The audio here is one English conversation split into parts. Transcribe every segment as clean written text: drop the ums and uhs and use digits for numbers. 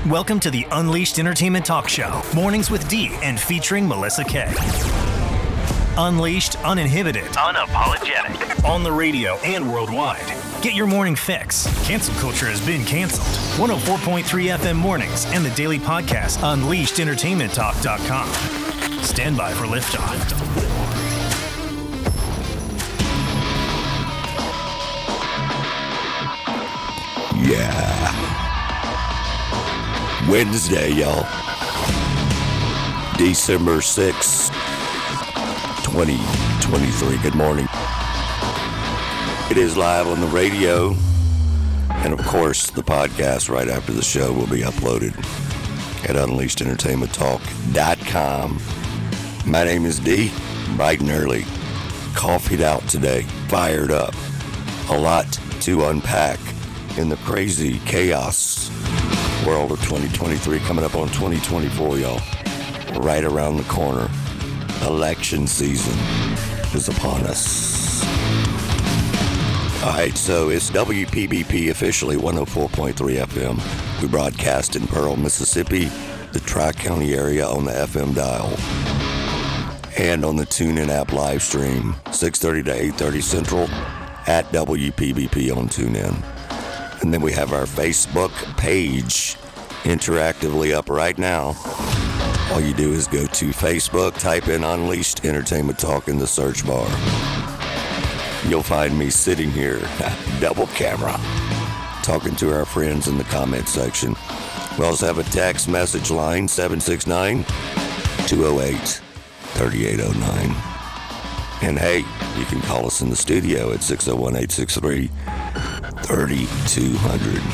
Welcome to the Unleashed Entertainment Talk Show, mornings with Dee and featuring Melissa K. Unleashed, uninhibited, unapologetic, on the radio and worldwide. Get your morning fix. Cancel culture has been canceled. 104.3 FM mornings and the daily podcast, UnleashedEntertainmentTalk.com. Stand by for liftoff. Yeah. Wednesday, y'all. December 6th, 2023. Good morning. It is live on the radio. And of course, the podcast right after the show will be uploaded at UnleashedEntertainmentTalk.com. My name is Dee. Bright and early. Coffeeed out today. Fired up. A lot to unpack in the crazy chaos world of 2023, coming up on 2024, y'all. Right around the corner. Election season is upon us. All right, so it's WPBP officially 104.3 FM. We broadcast in Pearl, Mississippi, the Tri-County area on the FM dial. And on the TuneIn app live stream, 6:30 to 8:30 Central at WPBP on TuneIn. And then we have our Facebook page interactively up right now. All you do is go to Facebook, type in Unleashed Entertainment Talk in the search bar. You'll find me sitting here, double camera, talking to our friends in the comment section. We also have a text message line, 769-208-3809. And hey, you can call us in the studio at 601-863-3200.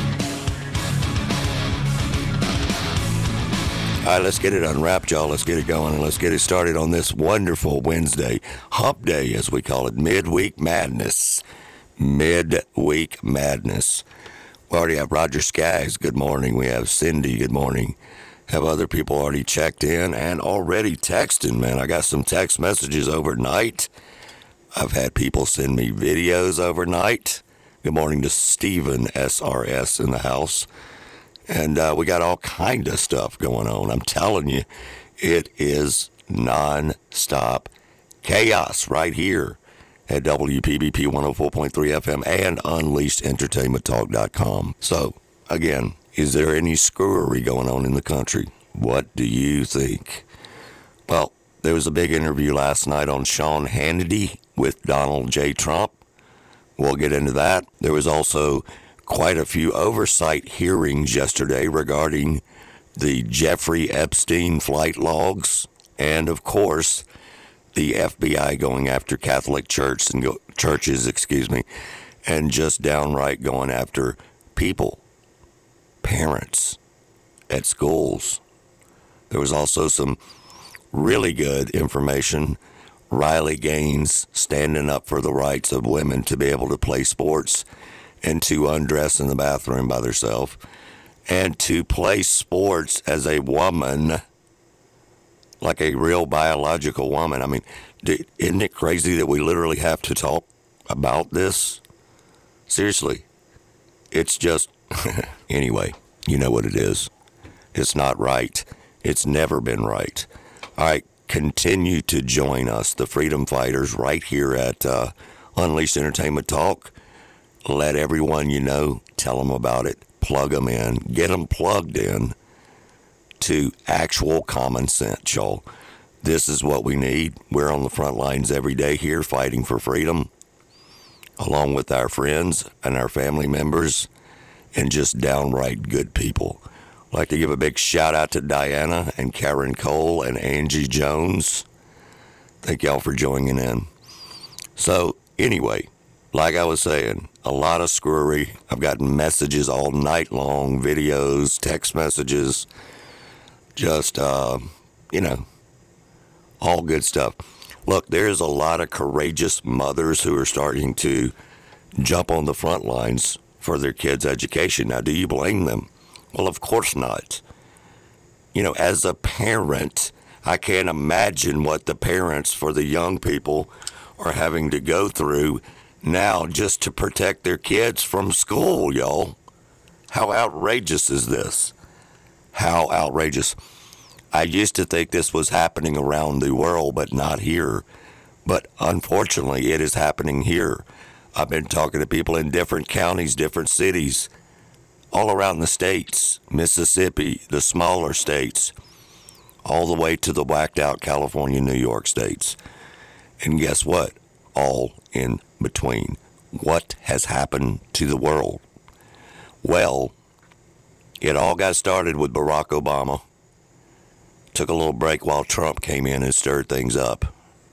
All right, let's get it unwrapped, y'all. Let's get it going, and let's get it started on this wonderful Wednesday. Hump Day, as we call it. Midweek Madness. Midweek Madness. We already have Roger Skaggs. Good morning. We have Cindy. Good morning. Have other people already checked in and already texting, man. I got some text messages overnight. I've had people send me videos overnight. Good morning to Stephen SRS in the house. And we got all kind of stuff going on. I'm telling you, it is non-stop chaos right here at WPBP 104.3 FM and UnleashedEntertainmentTalk.com. So, again, is there any screwery going on in the country? What do you think? Well, there was a big interview last night on Sean Hannity with Donald J. Trump. We'll get into that. There was also quite a few oversight hearings yesterday regarding the Jeffrey Epstein flight logs and, of course, the FBI going after Catholic churches, and just downright going after people, parents at schools. There was also some really good information. Riley Gaines standing up for the rights of women to be able to play sports and to undress in the bathroom by themselves, and to play sports as a woman, like a real biological woman. I mean, isn't it crazy that we literally have to talk about this? Seriously. It's just, anyway, you know what it is. It's not right. It's never been right. All right, continue to join us, the freedom fighters, right here at Unleashed Entertainment Talk. Let everyone you know, tell them about it, plug them in, get them plugged in to actual common sense, y'all. This is what we need. We're on the front lines every day here fighting for freedom, along with our friends and our family members and just downright good people. I'd like to give a big shout out to Diana and Karen Cole and Angie Jones. Thank y'all for joining in. So anyway, like I was saying, a lot of screwery. I've gotten messages all night long, videos, text messages, just, all good stuff. Look, there's a lot of courageous mothers who are starting to jump on the front lines for their kids' education. Now, do you blame them? Well, of course not. As a parent, I can't imagine what the parents for the young people are having to go through now just to protect their kids from school, y'all. How outrageous is this? How outrageous. I used to think this was happening around the world, but not here. But unfortunately, it is happening here. I've been talking to people in different counties, different cities, all around the states, Mississippi, the smaller states, all the way to the whacked out California, New York states. And guess what? All in between. What has happened to the world? Well, it all got started with Barack Obama. Took a little break while Trump came in and stirred things up.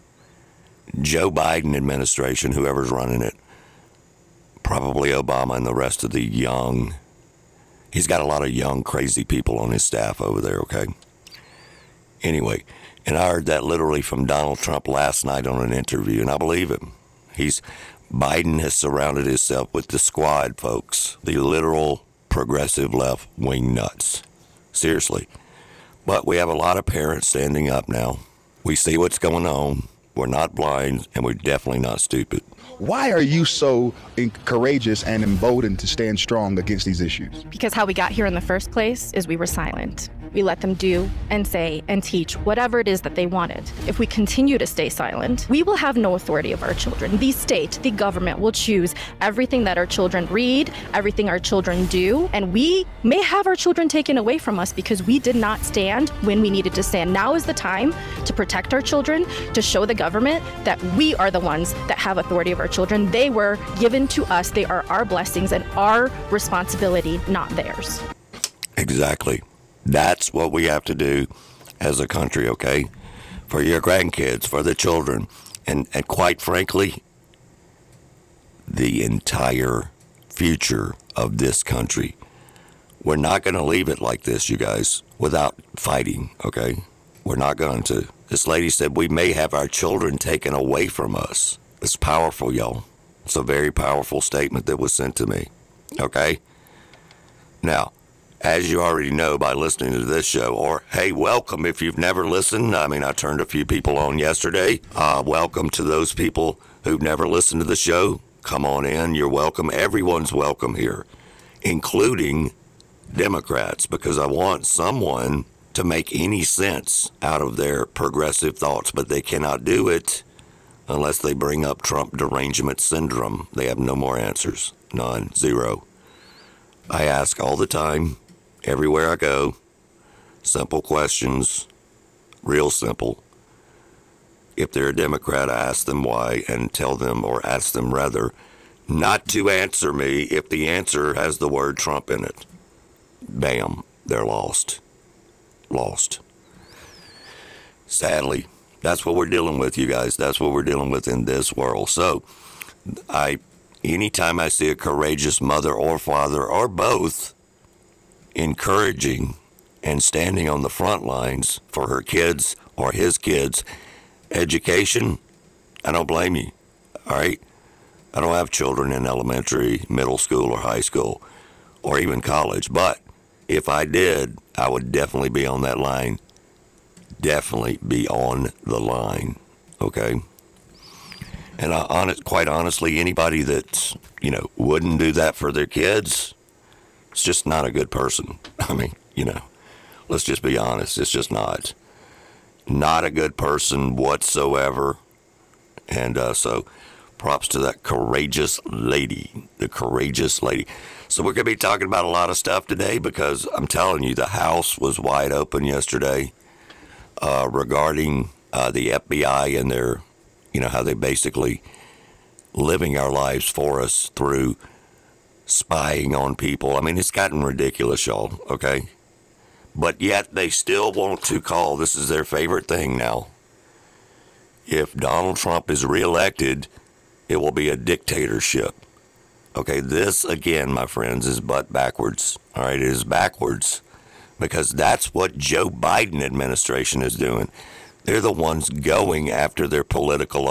Joe Biden administration, whoever's running it, probably Obama and the rest of the young. He's got a lot of young, crazy people on his staff over there, okay? Anyway, and I heard that literally from Donald Trump last night on an interview, and I believe him. Biden has surrounded himself with the squad, folks, the literal progressive left-wing nuts. Seriously. But we have a lot of parents standing up now. We see what's going on. We're not blind, and we're definitely not stupid. Why are you so courageous and emboldened to stand strong against these issues? Because how we got here in the first place is we were silent. We let them do and say and teach whatever it is that they wanted. If we continue to stay silent, we will have no authority of our children. The state, the government will choose everything that our children read, everything our children do, and we may have our children taken away from us because we did not stand when we needed to stand. Now is the time to protect our children, to show the government that we are the ones that have authority of our children. They were given to us. They are our blessings and our responsibility, not theirs. Exactly. That's what we have to do as a country, okay? For your grandkids, for the children, and quite frankly, the entire future of this country. We're not going to leave it like this, you guys, without fighting, okay? We're not going to. This lady said we may have our children taken away from us. It's powerful, y'all. It's a very powerful statement that was sent to me, okay? Now, as you already know by listening to this show, or hey, welcome if you've never listened. I mean, I turned a few people on yesterday. Welcome to those people who've never listened to the show. Come on in. You're welcome. Everyone's welcome here, including Democrats, because I want someone to make any sense out of their progressive thoughts, but they cannot do it unless they bring up Trump derangement syndrome. They have no more answers. None. Zero. I ask all the time. Everywhere I go, simple questions, real simple. If they're a Democrat, I ask them why and tell them, or ask them rather, not to answer me if the answer has the word Trump in it. Bam, they're lost. Lost. Sadly, that's what we're dealing with, you guys. That's what we're dealing with in this world. So, anytime I see a courageous mother or father or both encouraging and standing on the front lines for her kids or his kids' education, I don't blame you, all right? I don't have children in elementary, middle school, or high school, or even college, but if I did, I would definitely be on that line. Definitely be on the line, okay? And quite honestly, anybody that, wouldn't do that for their kids, it's just not a good person. I mean, let's just be honest. It's just not a good person whatsoever. And so props to that courageous lady, the courageous lady. So we're going to be talking about a lot of stuff today because I'm telling you, the House was wide open yesterday regarding the FBI and their, how they basically living our lives for us through spying on people. I mean, it's gotten ridiculous, y'all, okay? But yet they still want to call, this is their favorite thing now. If Donald Trump is reelected, it will be a dictatorship. Okay, this, again, my friends, is butt backwards. All right, it is backwards because that's what Joe Biden administration is doing. They're the ones going after their political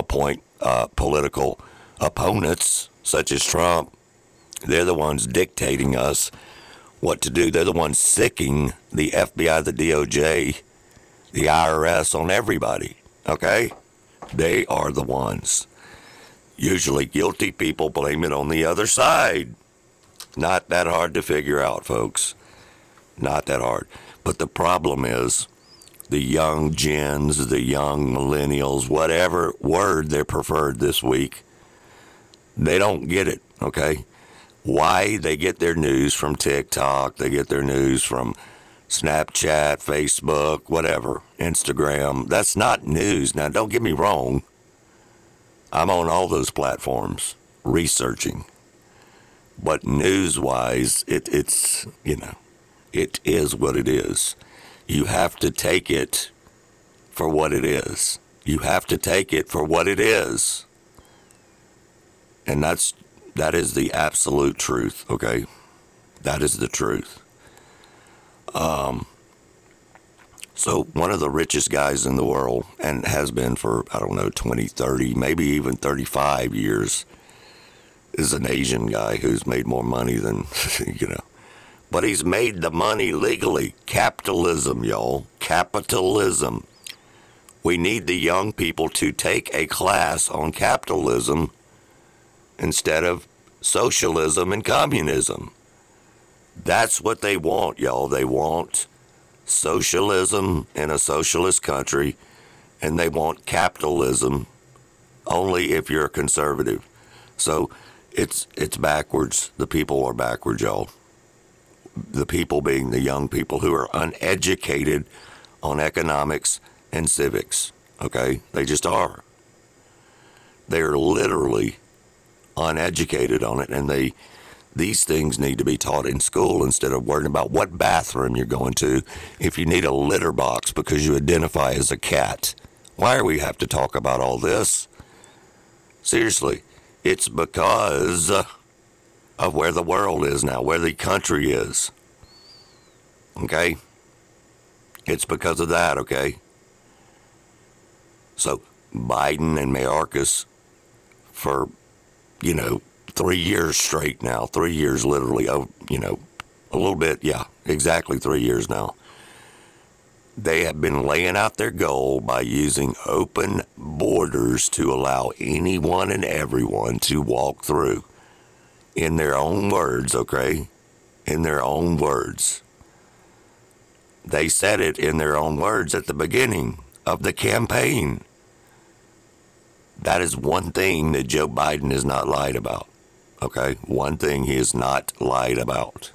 opponents, such as Trump. They're the ones dictating us what to do. They're the ones sicking the FBI, the DOJ, the IRS on everybody, okay? They are the ones. Usually guilty people blame it on the other side. Not that hard to figure out, folks. Not that hard. But the problem is the young gens, the young millennials, whatever word they're preferred this week, they don't get it, okay? Why they get their news from TikTok, they get their news from Snapchat, Facebook, whatever, Instagram. That's not news. Now, don't get me wrong. I'm on all those platforms researching. But news-wise, it's, it is what it is. You have to take it for what it is. You have to take it for what it is. And that is the absolute truth, okay? That is the truth. So one of the richest guys in the world, and has been for, 20, 30, maybe even 35 years, is an Asian guy who's made more money than, But he's made the money legally. Capitalism, y'all. Capitalism. We need the young people to take a class on capitalism instead of socialism and communism. That's what they want, y'all. They want socialism in a socialist country, and they want capitalism only if you're a conservative. So it's backwards. The people are backwards, y'all. The people being the young people who are uneducated on economics and civics, okay? They just are. They're literally uneducated on it, and these things need to be taught in school instead of worrying about what bathroom you're going to if you need a litter box because you identify as a cat. Why do we have to talk about all this? Seriously, it's because of where the world is now, where the country is. Okay? It's because of that, okay? So Biden and Mayorkas for, 3 years straight now, 3 years literally, a little bit, yeah, exactly 3 years now. They have been laying out their goal by using open borders to allow anyone and everyone to walk through. In their own words, okay? In their own words. They said it in their own words at the beginning of the campaign. That is one thing that Joe Biden has not lied about. Okay? One thing he has not lied about.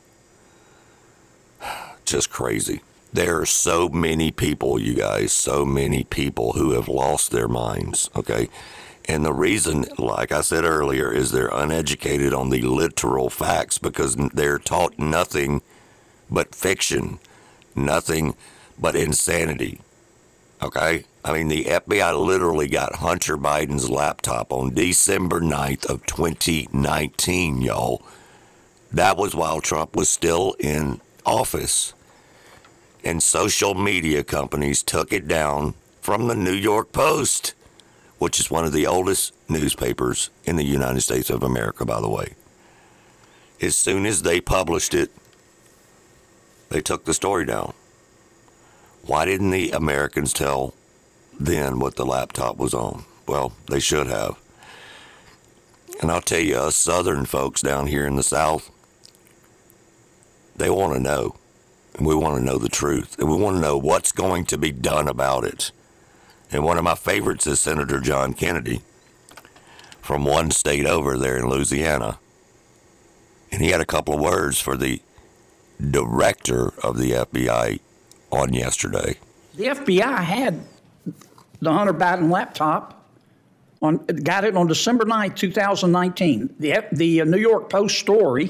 Just crazy. There are so many people, you guys, so many people who have lost their minds, okay? And the reason, like I said earlier, is they're uneducated on the literal facts because they're taught nothing but fiction, nothing but insanity, okay? I mean, the FBI literally got Hunter Biden's laptop on December 9th of 2019, y'all. That was while Trump was still in office. And social media companies took it down from the New York Post, which is one of the oldest newspapers in the United States of America, by the way. As soon as they published it, they took the story down. Why didn't the Americans tell then what the laptop was on? Well, they should have. And I'll tell you, us Southern folks down here in the South, they want to know. And we want to know the truth. And we want to know what's going to be done about it. And one of my favorites is Senator John Kennedy from one state over there in Louisiana. And he had a couple of words for the director of the FBI on yesterday. The FBI had the Hunter Biden laptop, got it on December 9th, 2019. The New York Post story,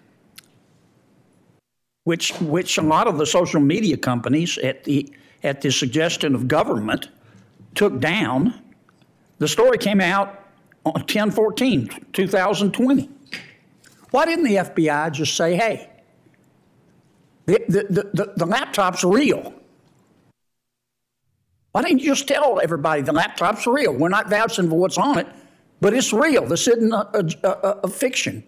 which a lot of the social media companies at the suggestion of government took down. The story came out on 10/14/2020. Why didn't the FBI just say, hey, the laptop's real? Why didn't you just tell everybody the laptop's real? We're not vouching for what's on it, but it's real. This isn't a fiction.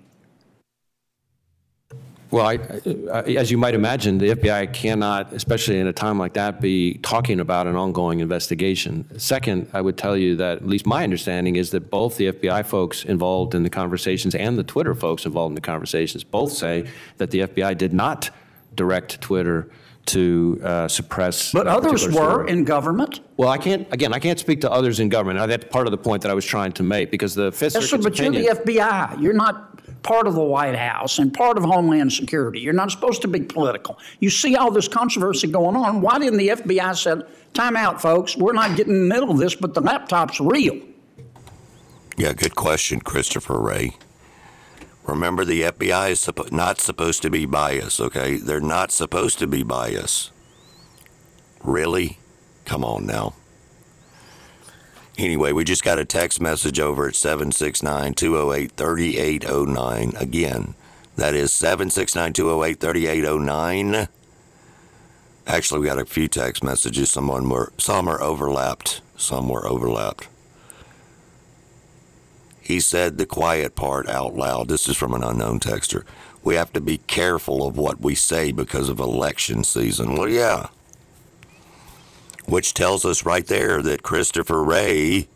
Well, as you might imagine, the FBI cannot, especially in a time like that, be talking about an ongoing investigation. Second, I would tell you that at least my understanding is that both the FBI folks involved in the conversations and the Twitter folks involved in the conversations both say that the FBI did not direct Twitter to suppress. But others were story. in government. Well, I can't speak to others in government. That's part of the point that I was trying to make, because the Fifth Yes, sir, Circuit's but opinion. you're the FBI. You're not part of the White House and part of Homeland Security. You're not supposed to be political. You see all this controversy going on. Why didn't the FBI say, time out, folks, we're not getting in the middle of this, but the laptop's real? Yeah, good question, Christopher Wray. Remember, the FBI is not supposed to be biased, okay? They're not supposed to be biased. Really? Come on now. Anyway, we just got a text message over at 769-208-3809. Again, that is 769-208-3809. Actually, we got a few text messages. Some are overlapped. Some were overlapped. He said the quiet part out loud. This is from an unknown texter. We have to be careful of what we say because of election season. Well, yeah. Which tells us right there that Christopher Wray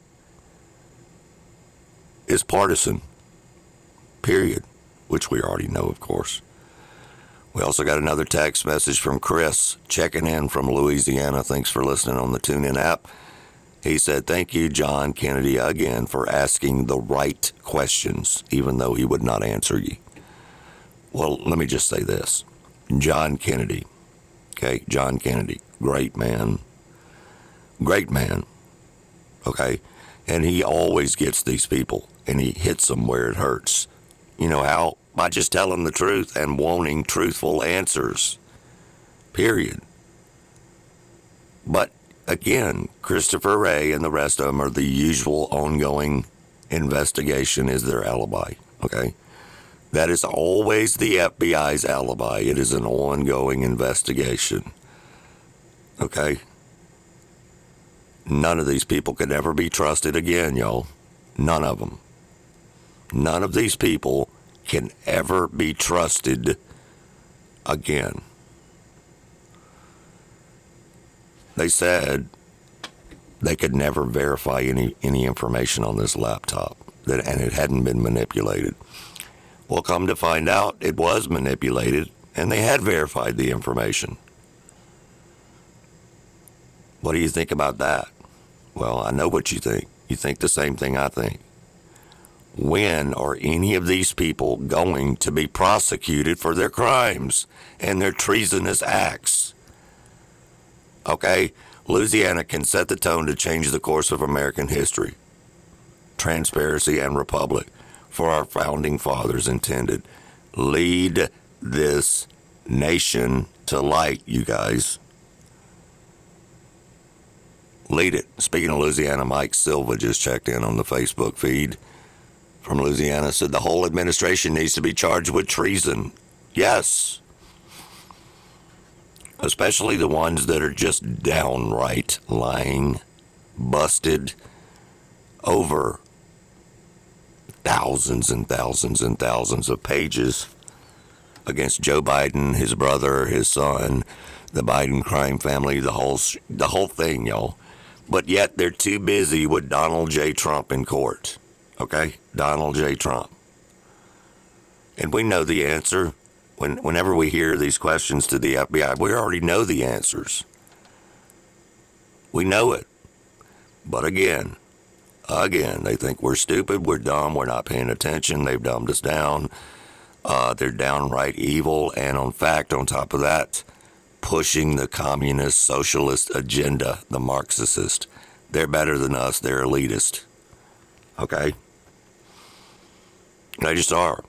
is partisan. Period. Which we already know, of course. We also got another text message from Chris, checking in from Louisiana. Thanks for listening on the TuneIn app. He said, thank you, John Kennedy, again, for asking the right questions, even though he would not answer you. Well, let me just say this. John Kennedy, okay, John Kennedy, great man, okay, and he always gets these people, and he hits them where it hurts. You know how? By just telling the truth and wanting truthful answers, period. But again, Christopher Wray and the rest of them are the usual ongoing investigation is their alibi, okay? That is always the FBI's alibi. It is an ongoing investigation, okay? None of these people could ever be trusted again, y'all. None of them. None of these people can ever be trusted again. They said they could never verify any information on this laptop, and it hadn't been manipulated. Well, come to find out, it was manipulated, and they had verified the information. What do you think about that? Well, I know what you think. You think the same thing I think. When are any of these people going to be prosecuted for their crimes and their treasonous acts? Okay, Louisiana can set the tone to change the course of American history. Transparency and republic, for our founding fathers intended. Lead this nation to light, you guys. Lead it. Speaking of Louisiana, Mike Silva just checked in on the Facebook feed from Louisiana, said the whole administration needs to be charged with treason. Yes. Especially the ones that are just downright lying, busted over thousands and thousands and thousands of pages against Joe Biden, his brother, his son, the Biden crime family, the whole thing, y'all. But yet they're too busy with Donald J. Trump in court. Okay? Donald J. Trump. And we know the answer. Whenever we hear these questions to the FBI, we already know the answers. We know it. But again, they think we're stupid, we're dumb, we're not paying attention, they've dumbed us down. They're downright evil, and in fact, on top of that, pushing the communist socialist agenda, the Marxist. They're better than us, they're elitist. Okay? They just are.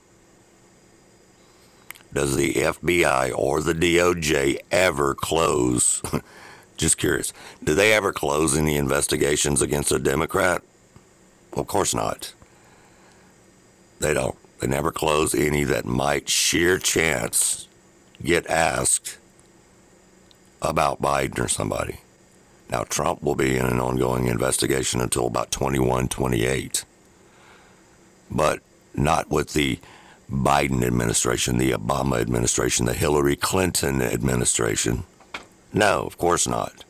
Does the FBI or the DOJ ever close, just curious, do they ever close any investigations against a Democrat? Well, of course not. They don't. They never close any that might sheer chance get asked about Biden or somebody. Now, Trump will be in an ongoing investigation until about 21, 28. But not with the Biden administration, the Obama administration, the Hillary Clinton administration. No, of course not.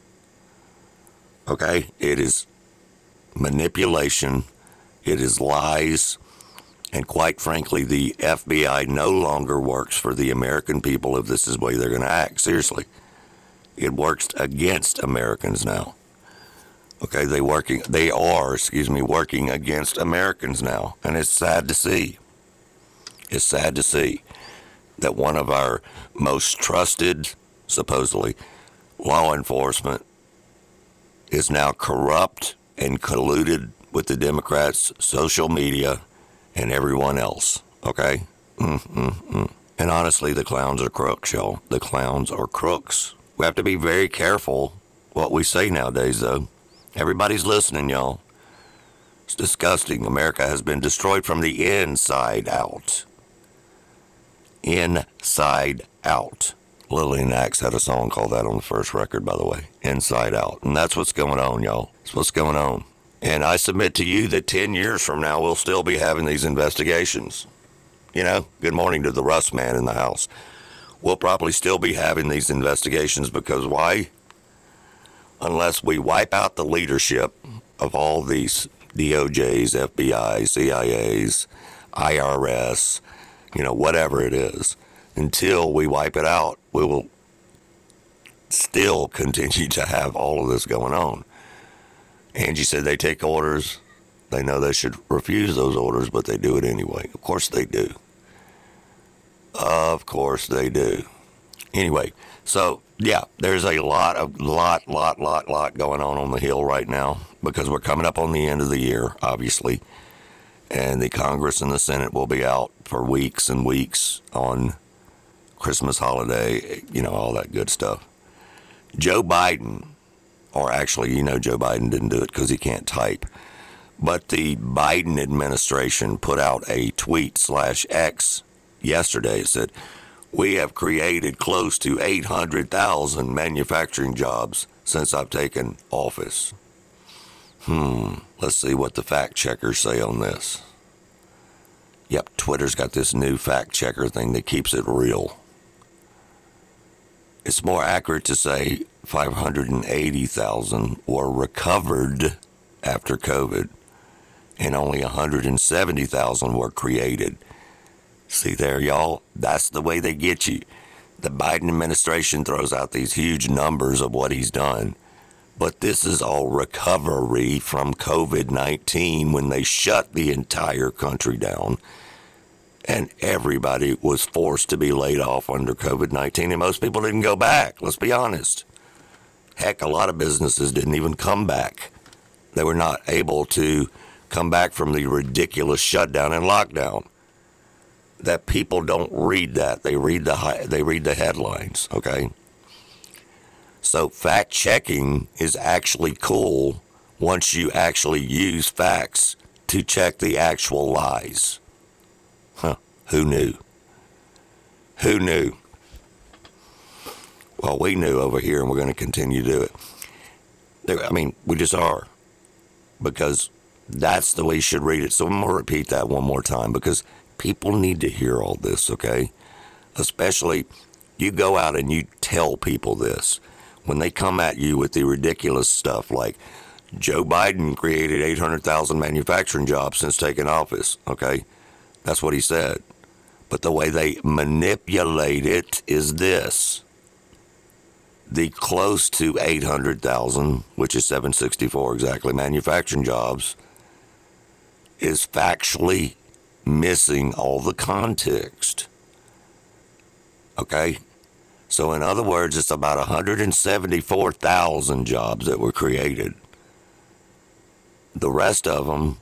Okay? It is manipulation. It is lies. And quite frankly, the FBI no longer works for the American people if this is the way they're going to act. Seriously. It works against Americans now. Okay, they are working against Americans now. And it's sad to see. It's sad to see that one of our most trusted, supposedly, law enforcement is now corrupt and colluded with the Democrats, social media, and everyone else. Okay? And honestly, the clowns are crooks, y'all. The clowns are crooks. We have to be very careful what we say nowadays, though. Everybody's listening, y'all. It's disgusting. America has been destroyed from the inside out. Inside out. Lillian Axe had a song called that on the first record, by the way. Inside Out. And that's what's going on, y'all. That's what's going on. And I submit to you that 10 years from now, we'll still be having these investigations. You know, good morning to the Rust man in the house. We'll probably still be having these investigations because why? Unless we wipe out the leadership of all these DOJs, FBI, CIAs, IRS, you know, whatever it is. Until we wipe it out, we will still continue to have all of this going on. Angie said they take orders. They know they should refuse those orders, but they do it anyway. Of course they do. Of course they do. Anyway, so yeah, there's a lot going on the Hill right now because we're coming up on the end of the year, obviously. And the Congress and the Senate will be out for weeks and weeks on Christmas holiday, you know, all that good stuff. Joe Biden, or actually, you know, Joe Biden didn't do it because he can't type. But the Biden administration put out a tweet/X yesterday. It said, we have created close to 800,000 manufacturing jobs since I've taken office. Let's see what the fact checkers say on this. Yep, Twitter's got this new fact checker thing that keeps it real. It's more accurate to say 580,000 were recovered after COVID, and only 170,000 were created. See there, y'all? That's the way they get you. The Biden administration throws out these huge numbers of what he's done. But this is all recovery from COVID-19 when they shut the entire country down. And everybody was forced to be laid off under COVID-19. And most people didn't go back, let's be honest. Heck, a lot of businesses didn't even come back. They were not able to come back from the ridiculous shutdown and lockdown. That people don't read that. They read the headlines, okay? So fact checking is actually cool once you actually use facts to check the actual lies. Who knew? Who knew? Well, we knew over here, and we're going to continue to do it. We just are. Because that's the way you should read it. So I'm going to repeat that one more time because people need to hear all this, okay? Especially, you go out and you tell people this. When they come at you with the ridiculous stuff like Joe Biden created 800,000 manufacturing jobs since taking office, okay? That's what he said. But the way they manipulate it is this. The close to 800,000, which is 764 exactly, manufacturing jobs is factually missing all the context. Okay? So in other words, it's about 174,000 jobs that were created. The rest of them,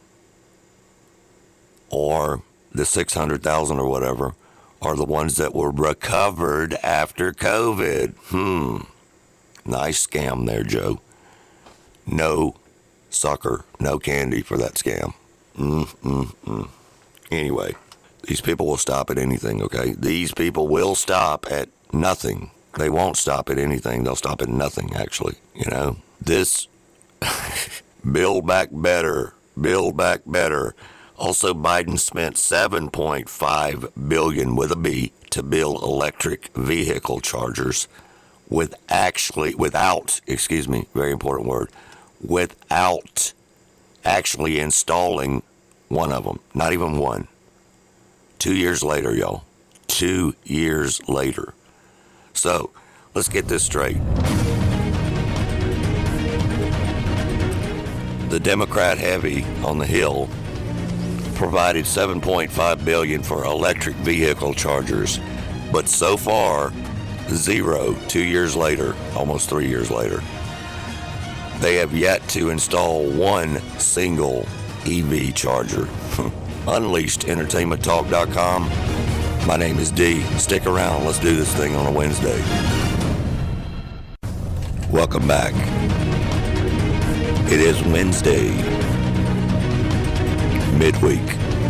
or the 600,000 or whatever, are the ones that were recovered after COVID. Nice scam there, Joe. No sucker, no candy for that scam. Anyway, these people will stop at anything, okay? These people will stop at nothing. They won't stop at anything. They'll stop at nothing, actually. You know, this Build Back Better. Build Back Better. Also, Biden spent $7.5 billion with a B to build electric vehicle chargers without, very important word, without actually installing one of them. Not even one. 2 years later, y'all. 2 years later. So, let's get this straight. The Democrat heavy on the Hill provided $7.5 billion for electric vehicle chargers, but so far, zero 2 years later, almost 3 years later. They have yet to install one single EV charger. UnleashedEntertainmentTalk.com. My name is D. Stick around. Let's do this thing on a Wednesday. Welcome back. It is Wednesday, midweek.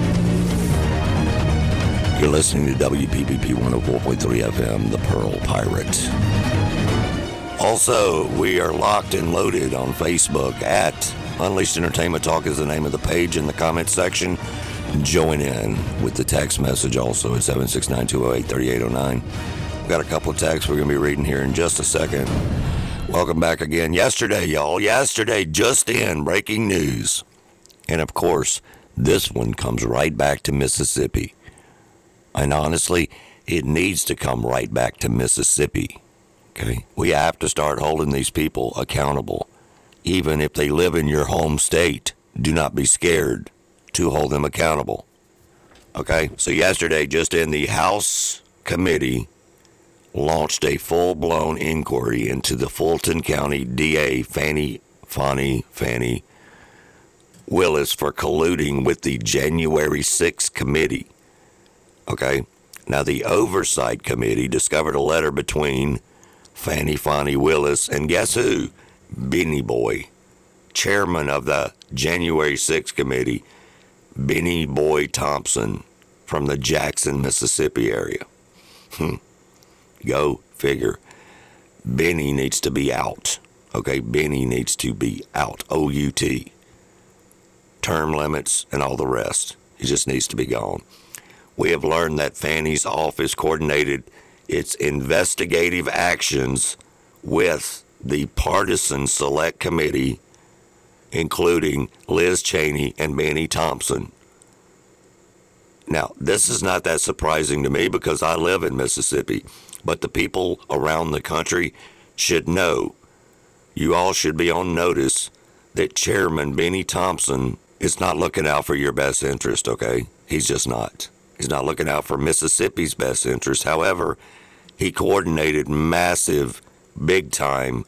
You're listening to WPPP 104.3 FM, the Pearl Pirate. Also, we are locked and loaded on Facebook at Unleashed Entertainment Talk is the name of the page in the comment section. Join in with the text message also at 769-208-3809. We've got a couple of texts we're going to be reading here in just a second. Welcome back again. Yesterday, y'all. Yesterday, just in, breaking news. And of course, this one comes right back to Mississippi. And honestly, it needs to come right back to Mississippi. Okay? We have to start holding these people accountable. Even if they live in your home state, do not be scared to hold them accountable. Okay? So yesterday, just in, the House committee launched a full-blown inquiry into the Fulton County DA Fannie Willis for colluding with the January 6th committee. Okay? Now, the Oversight Committee discovered a letter between Fannie Willis and guess who? Benny Boy, chairman of the January 6th committee, Benny Boy Thompson from the Jackson, Mississippi area. Go figure. Benny needs to be out. Okay, Benny needs to be out. O-U-T. Term limits and all the rest. He just needs to be gone. We have learned that Fannie's office coordinated its investigative actions with the partisan select committee, including Liz Cheney and Benny Thompson. Now, this is not that surprising to me because I live in Mississippi, but the people around the country should know. You all should be on notice that Chairman Benny Thompson is not looking out for your best interest, okay? He's just not. He's not looking out for Mississippi's best interest. However, he coordinated massive, big time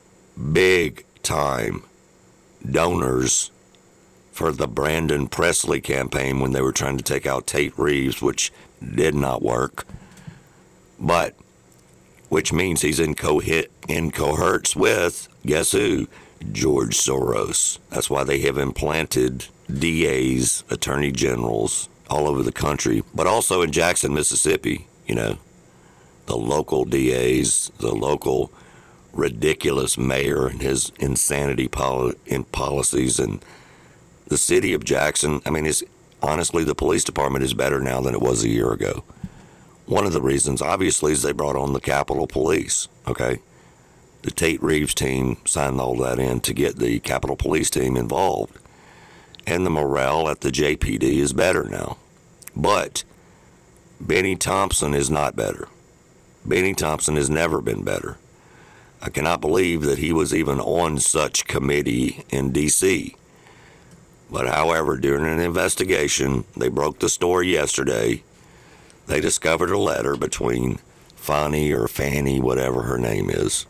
donors for the Brandon Presley campaign when they were trying to take out Tate Reeves, which did not work. But, which means he's in cohorts with, guess who? George Soros. That's why they have implanted DAs, attorney generals, all over the country, but also in Jackson, Mississippi, you know, the local DAs, the local ridiculous mayor and his insanity in policies, and the city of Jackson. I mean, honestly, the police department is better now than it was a year ago. One of the reasons, obviously, is they brought on the Capitol Police, okay? The Tate Reeves team signed all that in to get the Capitol Police team involved. And the morale at the JPD is better now. But Benny Thompson is not better. Benny Thompson has never been better. I cannot believe that he was even on such committee in D.C. But however, during an investigation, they broke the story yesterday. They discovered a letter between Fannie, whatever her name is,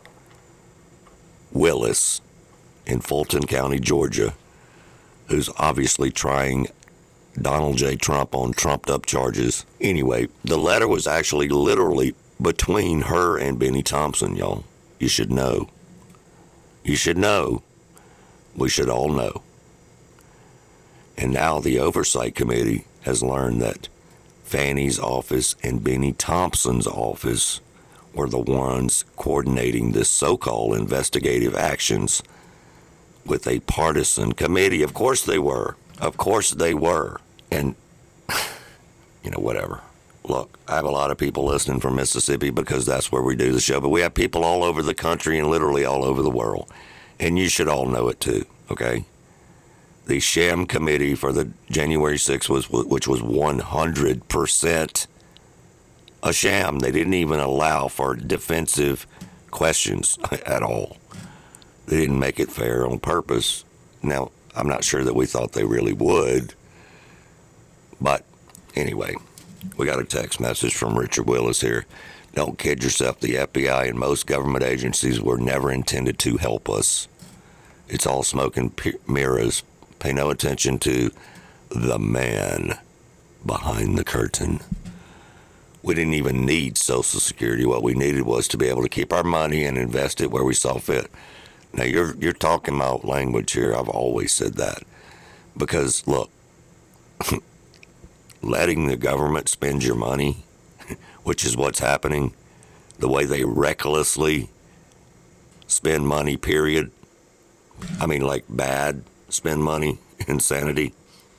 Willis in Fulton County, Georgia, who's obviously trying Donald J. Trump on trumped-up charges. Anyway, the letter was actually literally between her and Benny Thompson, y'all. You should know. You should know. We should all know. And now the Oversight Committee has learned that Fannie's office and Benny Thompson's office were the ones coordinating this so-called investigative actions with a partisan committee. Of course they were. Of course they were. And, you know, whatever. Look, I have a lot of people listening from Mississippi because that's where we do the show, but we have people all over the country and literally all over the world. And you should all know it too, okay? the sham committee for the January 6th, which was 100% a sham. They didn't even allow for defensive questions at all. They didn't make it fair on purpose. Now, I'm not sure that we thought they really would. But anyway, we got a text message from Richard Willis here. Don't kid yourself. The FBI and most government agencies were never intended to help us. It's all smoke and mirrors. Pay no attention to the man behind the curtain. We didn't even need Social Security. What we needed was to be able to keep our money and invest it where we saw fit. Now, you're talking about language here. I've always said that. Because, look, letting the government spend your money, which is what's happening, the way they recklessly spend money, period. I mean, like bad spend money, insanity,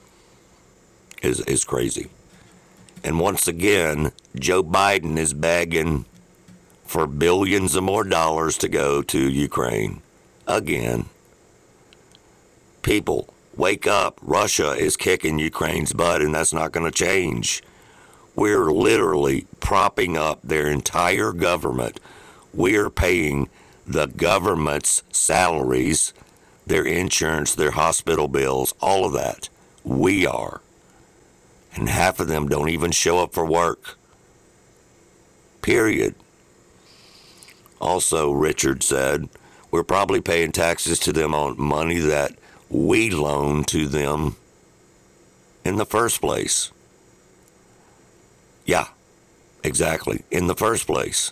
is crazy. And once again, Joe Biden is begging for billions of more dollars to go to Ukraine. Again. People, wake up. Russia is kicking Ukraine's butt, and that's not going to change. We're literally propping up their entire government. We're paying the government's salaries, their insurance, their hospital bills, all of that. We are. And half of them don't even show up for work. Period. Also, Richard said, we're probably paying taxes to them on money that we loaned to them in the first place. Yeah, exactly. In the first place.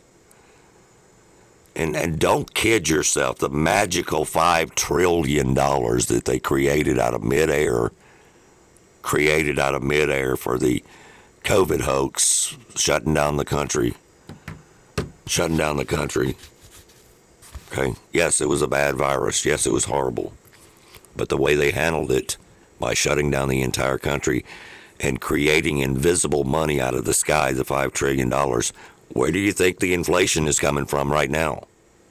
And don't kid yourself. The magical $5 trillion that they created out of midair for the COVID hoax, shutting down the country. Okay. Yes, it was a bad virus. Yes, it was horrible. But the way they handled it by shutting down the entire country and creating invisible money out of the sky, the $5 trillion, where do you think the inflation is coming from right now?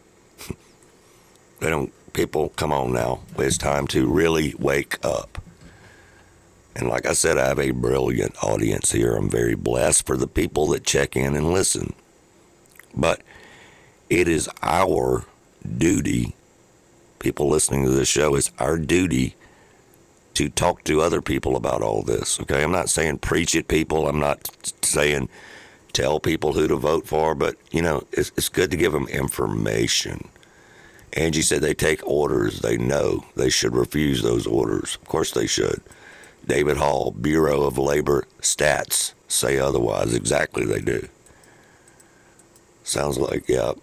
People, come on now. It's time to really wake up. And like I said, I have a brilliant audience here. I'm very blessed for the people that check in and listen. But it is our duty, people listening to this show, it's our duty to talk to other people about all this, okay? I'm not saying preach at people. I'm not saying tell people who to vote for, but, it's good to give them information. Angie said they take orders. They know they should refuse those orders. Of course they should. David Hall, Bureau of Labor Stats, say otherwise. Exactly, they do. Sounds like, yeah.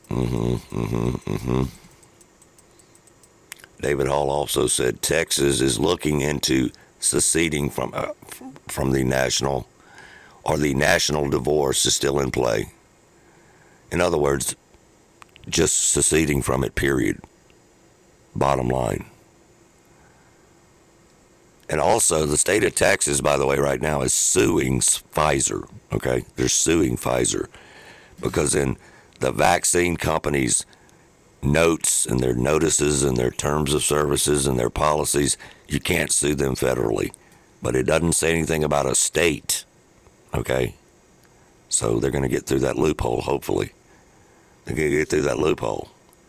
David Hall also said Texas is looking into seceding from the national, or the national divorce is still in play. In other words, just seceding from it, period. Bottom line. And also, the state of Texas, by the way, right now is suing Pfizer, okay? They're suing Pfizer because in the vaccine companies' notes and their notices and their terms of services and their policies, you can't sue them federally. But it doesn't say anything about a state, okay? So they're going to get through that loophole, hopefully. They're going to get through that loophole.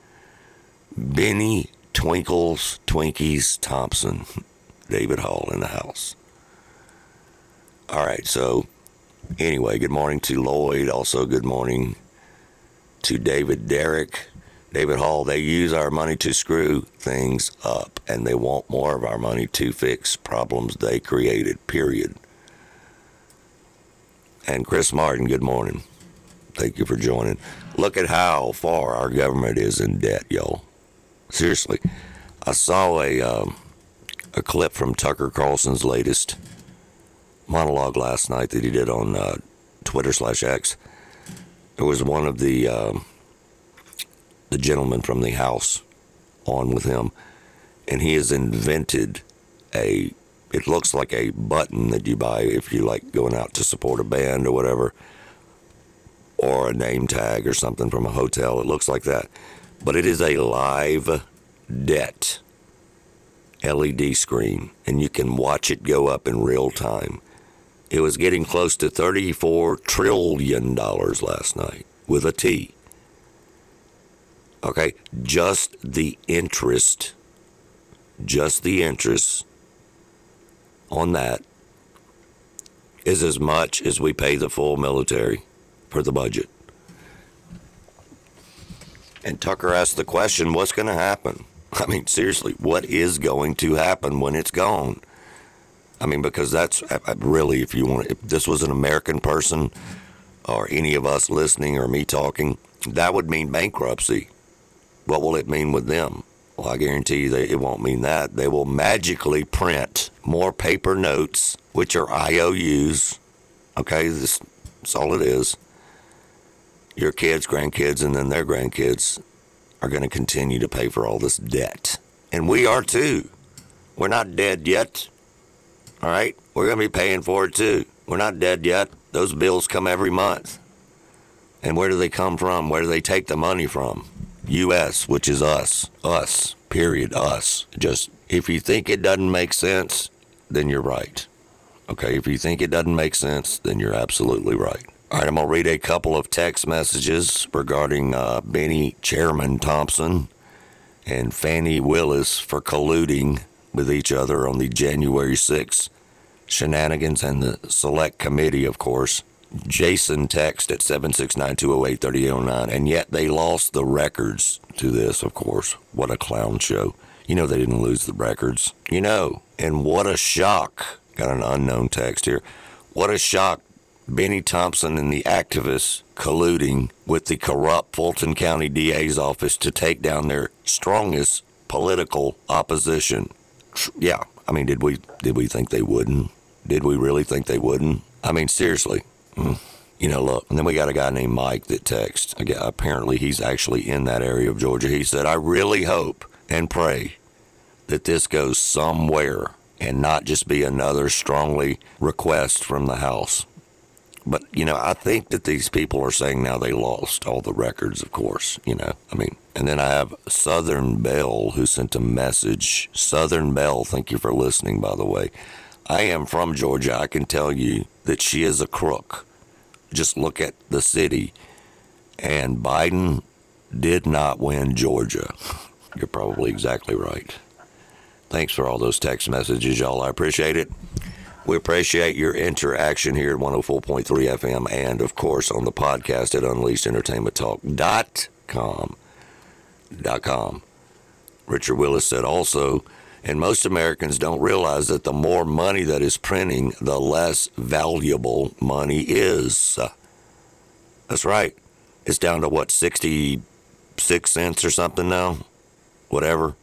Benny Twinkies Thompson, David Hall in the house. All right, so anyway, good morning to Lloyd. Also, good morning to David Derrick. David Hall, they use our money to screw things up, and they want more of our money to fix problems they created, period. And Chris Martin, good morning. Thank you for joining. Look at how far our government is in debt, y'all. Seriously. I saw a clip from Tucker Carlson's latest monologue last night that he did on Twitter/X. It was one of the gentlemen from the House on with him, and he has invented it looks like a button that you buy if you like going out to support a band or whatever, or a name tag or something from a hotel. It looks like that. But it is a live debt. LED screen, and you can watch it go up in real time. It was getting close to $34 trillion last night, with a T. Okay, just the interest on that is as much as we pay the full military for the budget. And Tucker asked the question, what's going to happen? I mean, seriously, what is going to happen when it's gone? I mean, because that's really, if this was an American person or any of us listening or me talking, that would mean bankruptcy. What will it mean with them? Well, I guarantee you it won't mean that. They will magically print more paper notes, which are IOUs. Okay, that's all it is. Your kids, grandkids, and then their grandkids are going to continue to pay for all this debt. And we are too. We're not dead yet. All right? We're going to be paying for it too. We're not dead yet. Those bills come every month. And where do they come from? Where do they take the money from? U.S., which is us. Us. Period. Us. Just, if you think it doesn't make sense, then you're right. Okay? If you think it doesn't make sense, then you're absolutely right. All right, I'm going to read a couple of text messages regarding Benny Chairman Thompson and Fannie Willis for colluding with each other on the January 6th shenanigans and the select committee, of course. Jason text at 769-208-3809, and yet they lost the records to this, of course. What a clown show. You know they didn't lose the records. You know, and what a shock. Got an unknown text here. What a shock. Benny Thompson and the activists colluding with the corrupt Fulton County DA's office to take down their strongest political opposition. Yeah, I mean, did we think they wouldn't? Did we really think they wouldn't? I mean, seriously. You know, look, and then we got a guy named Mike that texts. Apparently he's actually in that area of Georgia. He said, I really hope and pray that this goes somewhere and not just be another strongly request from the House. But, you know, I think that these people are saying now they lost all the records, of course, you know. I mean, and then I have Southern Belle who sent a message. Southern Belle, thank you for listening, by the way. I am from Georgia. I can tell you that she is a crook. Just look at the city. And Biden did not win Georgia. You're probably exactly right. Thanks for all those text messages, y'all. I appreciate it. We appreciate your interaction here at 104.3 FM and, of course, on the podcast at UnleashedEntertainmentTalk.com. Richard Willis said also, and most Americans don't realize that the more money that is printing, the less valuable money is. That's right. It's down to, what, 66 cents or something now? Whatever.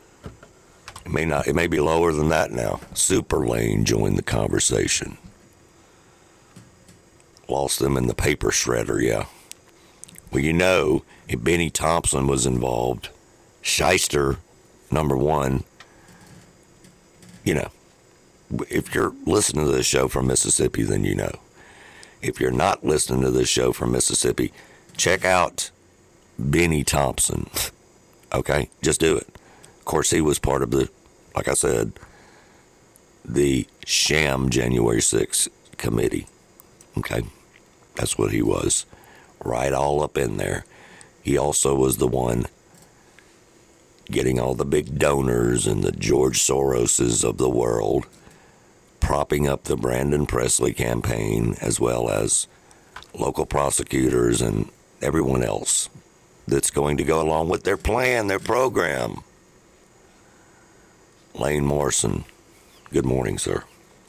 It may be lower than that now. Super Lane joined the conversation. Lost them in the paper shredder, yeah. Well, you know, if Benny Thompson was involved, shyster, number one, you know, if you're listening to this show from Mississippi, then you know. If you're not listening to this show from Mississippi, check out Benny Thompson. Okay? Just do it. Of course, he was part of the, like I said, the sham January 6th committee. Okay? That's what he was. Right all up in there. He also was the one getting all the big donors and the George Soroses of the world, propping up the Brandon Presley campaign, as well as local prosecutors and everyone else that's going to go along with their plan, their program. Lane Morrison, good morning, sir.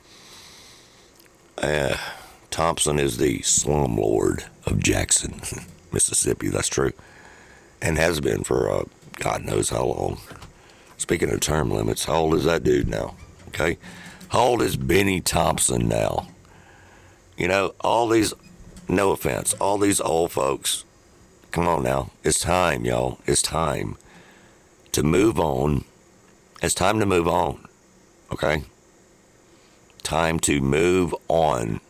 Thompson is the slumlord of Jackson, Mississippi. That's true. And has been for God knows how long. Speaking of term limits, how old is that dude now? Okay? How old is Benny Thompson now? You know, all these, no offense, all these old folks, come on now. It's time, y'all. It's time to move on. It's time to move on. Okay? Time to move on.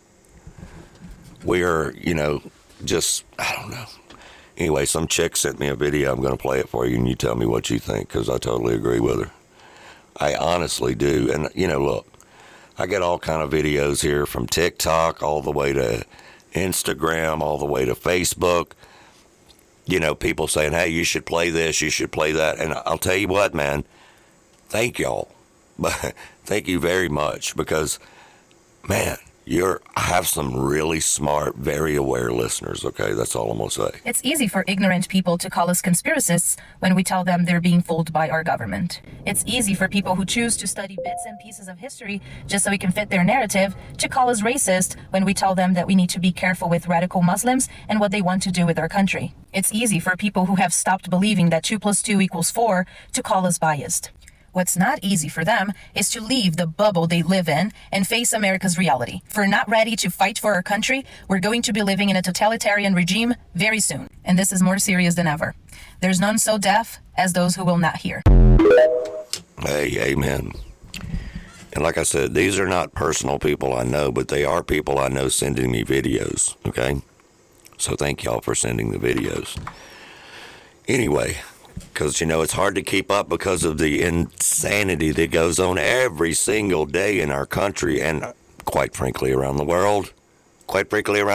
We're, you know, just, I don't know. Anyway, some chick sent me a video. I'm going to play it for you, and you tell me what you think, because I totally agree with her. I honestly do. And, look, I get all kind of videos here from TikTok all the way to Instagram, all the way to Facebook. People saying, hey, you should play this, you should play that. And I'll tell you what, man, thank y'all. Thank you very much because, man, I have some really smart, very aware listeners, okay? That's all I'm going to say. It's easy for ignorant people to call us conspiracists when we tell them they're being fooled by our government. It's easy for people who choose to study bits and pieces of history just so we can fit their narrative to call us racist when we tell them that we need to be careful with radical Muslims and what they want to do with our country. It's easy for people who have stopped believing that 2 + 2 = 4 to call us biased. What's not easy for them is to leave the bubble they live in and face America's reality. If we're not ready to fight for our country, we're going to be living in a totalitarian regime very soon. And this is more serious than ever. There's none so deaf as those who will not hear. Hey, amen. And like I said, these are not personal people I know, but they are people I know sending me videos, okay? So thank y'all for sending the videos. Anyway, because, it's hard to keep up because of the insanity that goes on every single day in our country and, quite frankly, around the world. Quite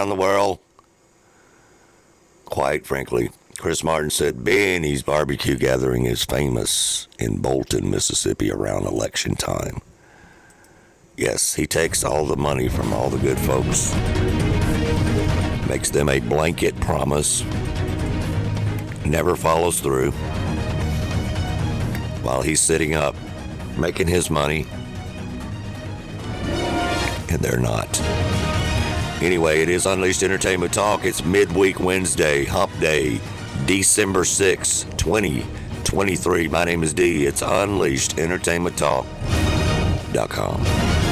frankly, Chris Martin said Benny's barbecue gathering is famous in Bolton, Mississippi around election time. Yes, he takes all the money from all the good folks, makes them a blanket promise, never follows through, while he's sitting up making his money, and they're not. Anyway, it is Unleashed Entertainment Talk. It's midweek Wednesday, hump day, December 6, 2023. My name is D. It's UnleashedEntertainmentTalk.com.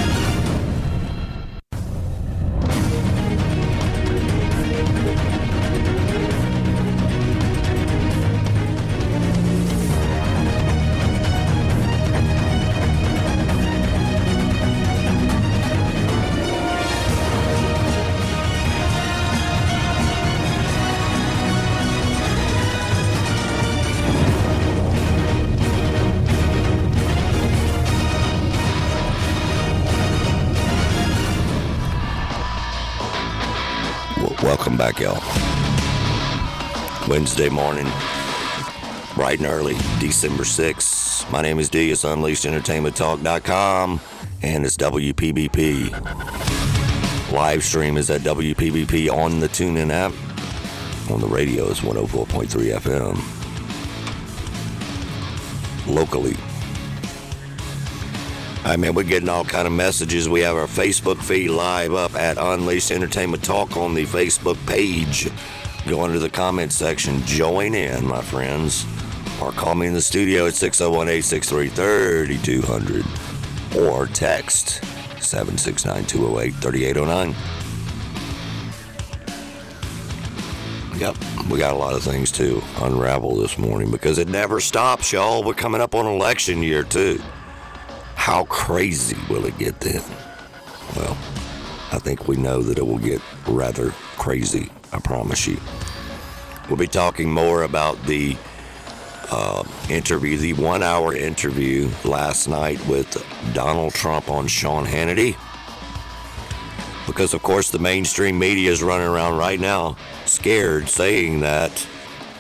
Welcome back, y'all. Wednesday morning, bright and early, December 6th. My name is D. It's UnleashedEntertainmentTalk.com, and it's WPBP. Live stream is at WPBP on the TuneIn app. On the radio is 104.3 FM. Locally. We're getting all kind of messages. We have our Facebook feed live up at Unleashed Entertainment Talk on the Facebook page. Go under the comment section. Join in, my friends. Or call me in the studio at 601-863-3200. Or text 769-208-3809. Yep, we got a lot of things to unravel this morning because it never stops, y'all. We're coming up on election year, too. How crazy will it get then? Well, I think we know that it will get rather crazy, I promise you. We'll be talking more about the interview, the 1-hour interview last night with Donald Trump on Sean Hannity. Because, of course, the mainstream media is running around right now scared, saying that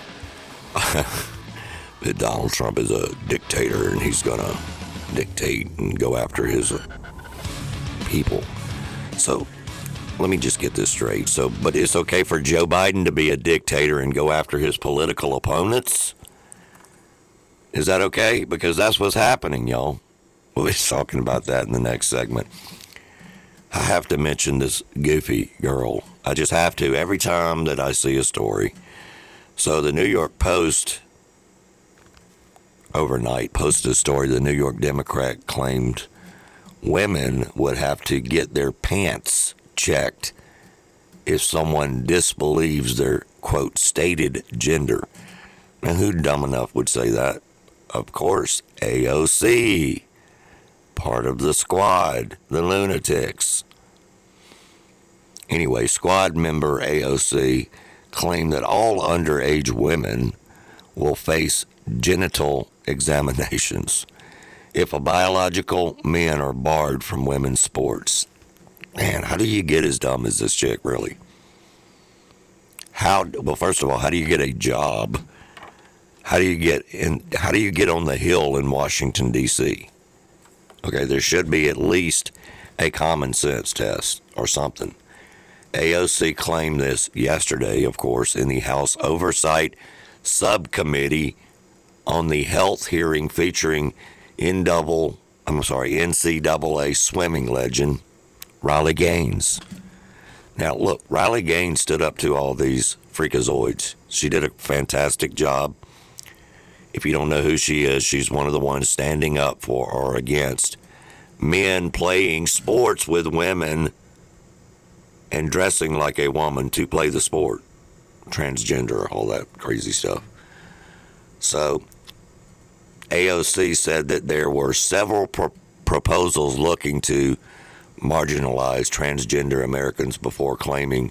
Donald Trump is a dictator and he's going to dictate and go after his people. So let me just get this straight. But it's okay for Joe Biden to be a dictator and go after his political opponents? Is that okay? Because that's what's happening, y'all. We'll be talking about that in the next segment. I have to mention this goofy girl. I just have to every time that I see a story. So the New York Post overnight posted a story. The New York Democrat claimed women would have to get their pants checked if someone disbelieves their, quote, stated gender. Now, who dumb enough would say that? Of course, AOC, part of the squad, the lunatics. Anyway, squad member AOC claimed that all underage women will face genital examinations if a biological men are barred from women's sports, man, how do you get as dumb as this chick, really? Well, first of all, how do you get a job? How do you get on the Hill in Washington, D.C.? Okay, there should be at least a common sense test or something. AOC claimed this yesterday, of course, in the House Oversight Subcommittee on the health hearing featuring NCAA swimming legend Riley Gaines. Now, look, Riley Gaines stood up to all these freakazoids. She did a fantastic job. If you don't know who she is, she's one of the ones standing up for or against men playing sports with women and dressing like a woman to play the sport. Transgender, all that crazy stuff. So, AOC said that there were several proposals looking to marginalize transgender Americans before claiming,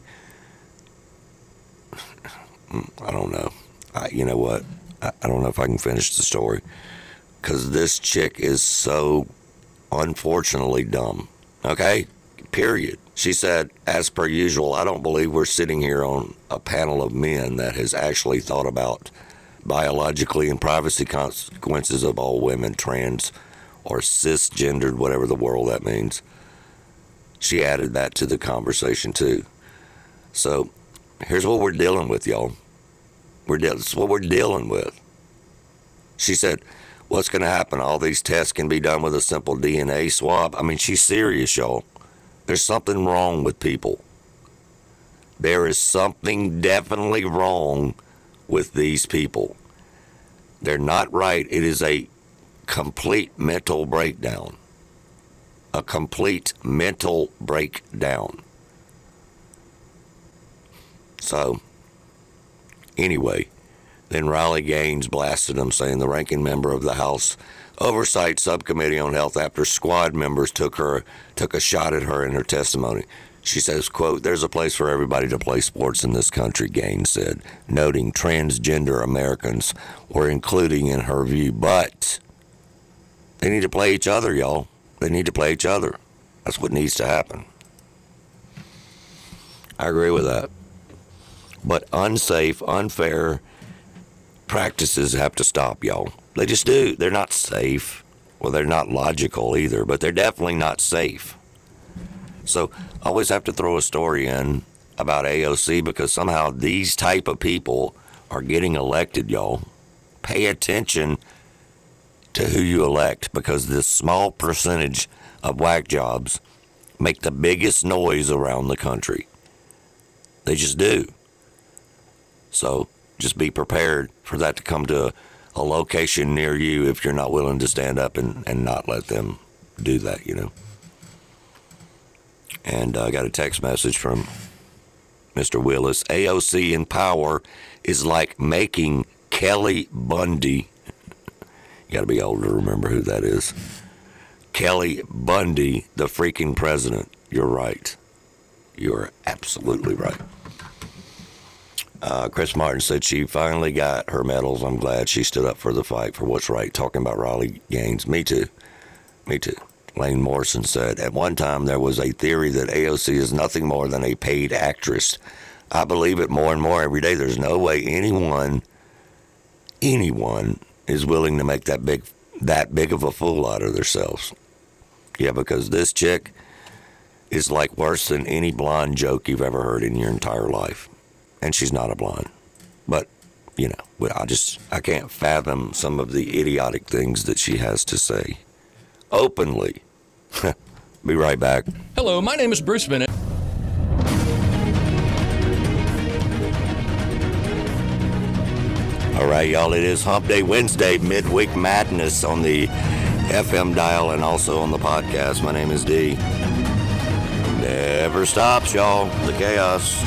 I don't know. You know what? I don't know if I can finish the story because this chick is so unfortunately dumb. Okay? Period. She said, as per usual, I don't believe we're sitting here on a panel of men that has actually thought about biologically and privacy consequences of all women, trans or cisgendered, whatever the world that means. She added that to the conversation too. So here's what we're dealing with, y'all. This is what we're dealing with. She said, what's going to happen? All these tests can be done with a simple DNA swab. I mean, she's serious, y'all. There's something wrong with people. There is something definitely wrong with these people. They're not right. It is a complete mental breakdown. A complete mental breakdown. So, anyway, then Riley Gaines blasted him, saying the ranking member of the House Oversight Subcommittee on Health after squad members took a shot at her in her testimony. She says, quote, there's a place for everybody to play sports in this country, Gaines said, noting transgender Americans were including in her view, but they need to play each other, y'all. They need to play each other. That's what needs to happen. I agree with that. But unsafe, unfair practices have to stop, y'all. They just do. They're not safe. Well, they're not logical either, but they're definitely not safe. So I always have to throw a story in about AOC because somehow these type of people are getting elected, y'all. Pay attention to who you elect because this small percentage of whack jobs make the biggest noise around the country. They just do. So just be prepared for that to come to a location near you if you're not willing to stand up and not let them do that, you know. And I got a text message from Mr. Willis. AOC in power is like making Kelly Bundy. You got to be old to remember who that is. Kelly Bundy, the freaking president. You're right. You're absolutely right. Chris Martin said she finally got her medals. I'm glad she stood up for the fight for what's right. Talking about Riley Gaines. Me too. Lane Morrison said, at one time there was a theory that AOC is nothing more than a paid actress. I believe it more and more every day. There's no way anyone is willing to make that big of a fool out of themselves. Yeah, because this chick is like worse than any blonde joke you've ever heard in your entire life. And she's not a blonde. But, you know, I can't fathom some of the idiotic things that she has to say. Openly. Be right back. Hello, my name is Bruce Bennett. All right, y'all, it is Hump Day Wednesday, Midweek Madness on the FM dial and also on the podcast. My name is D. Never stops, y'all, the chaos.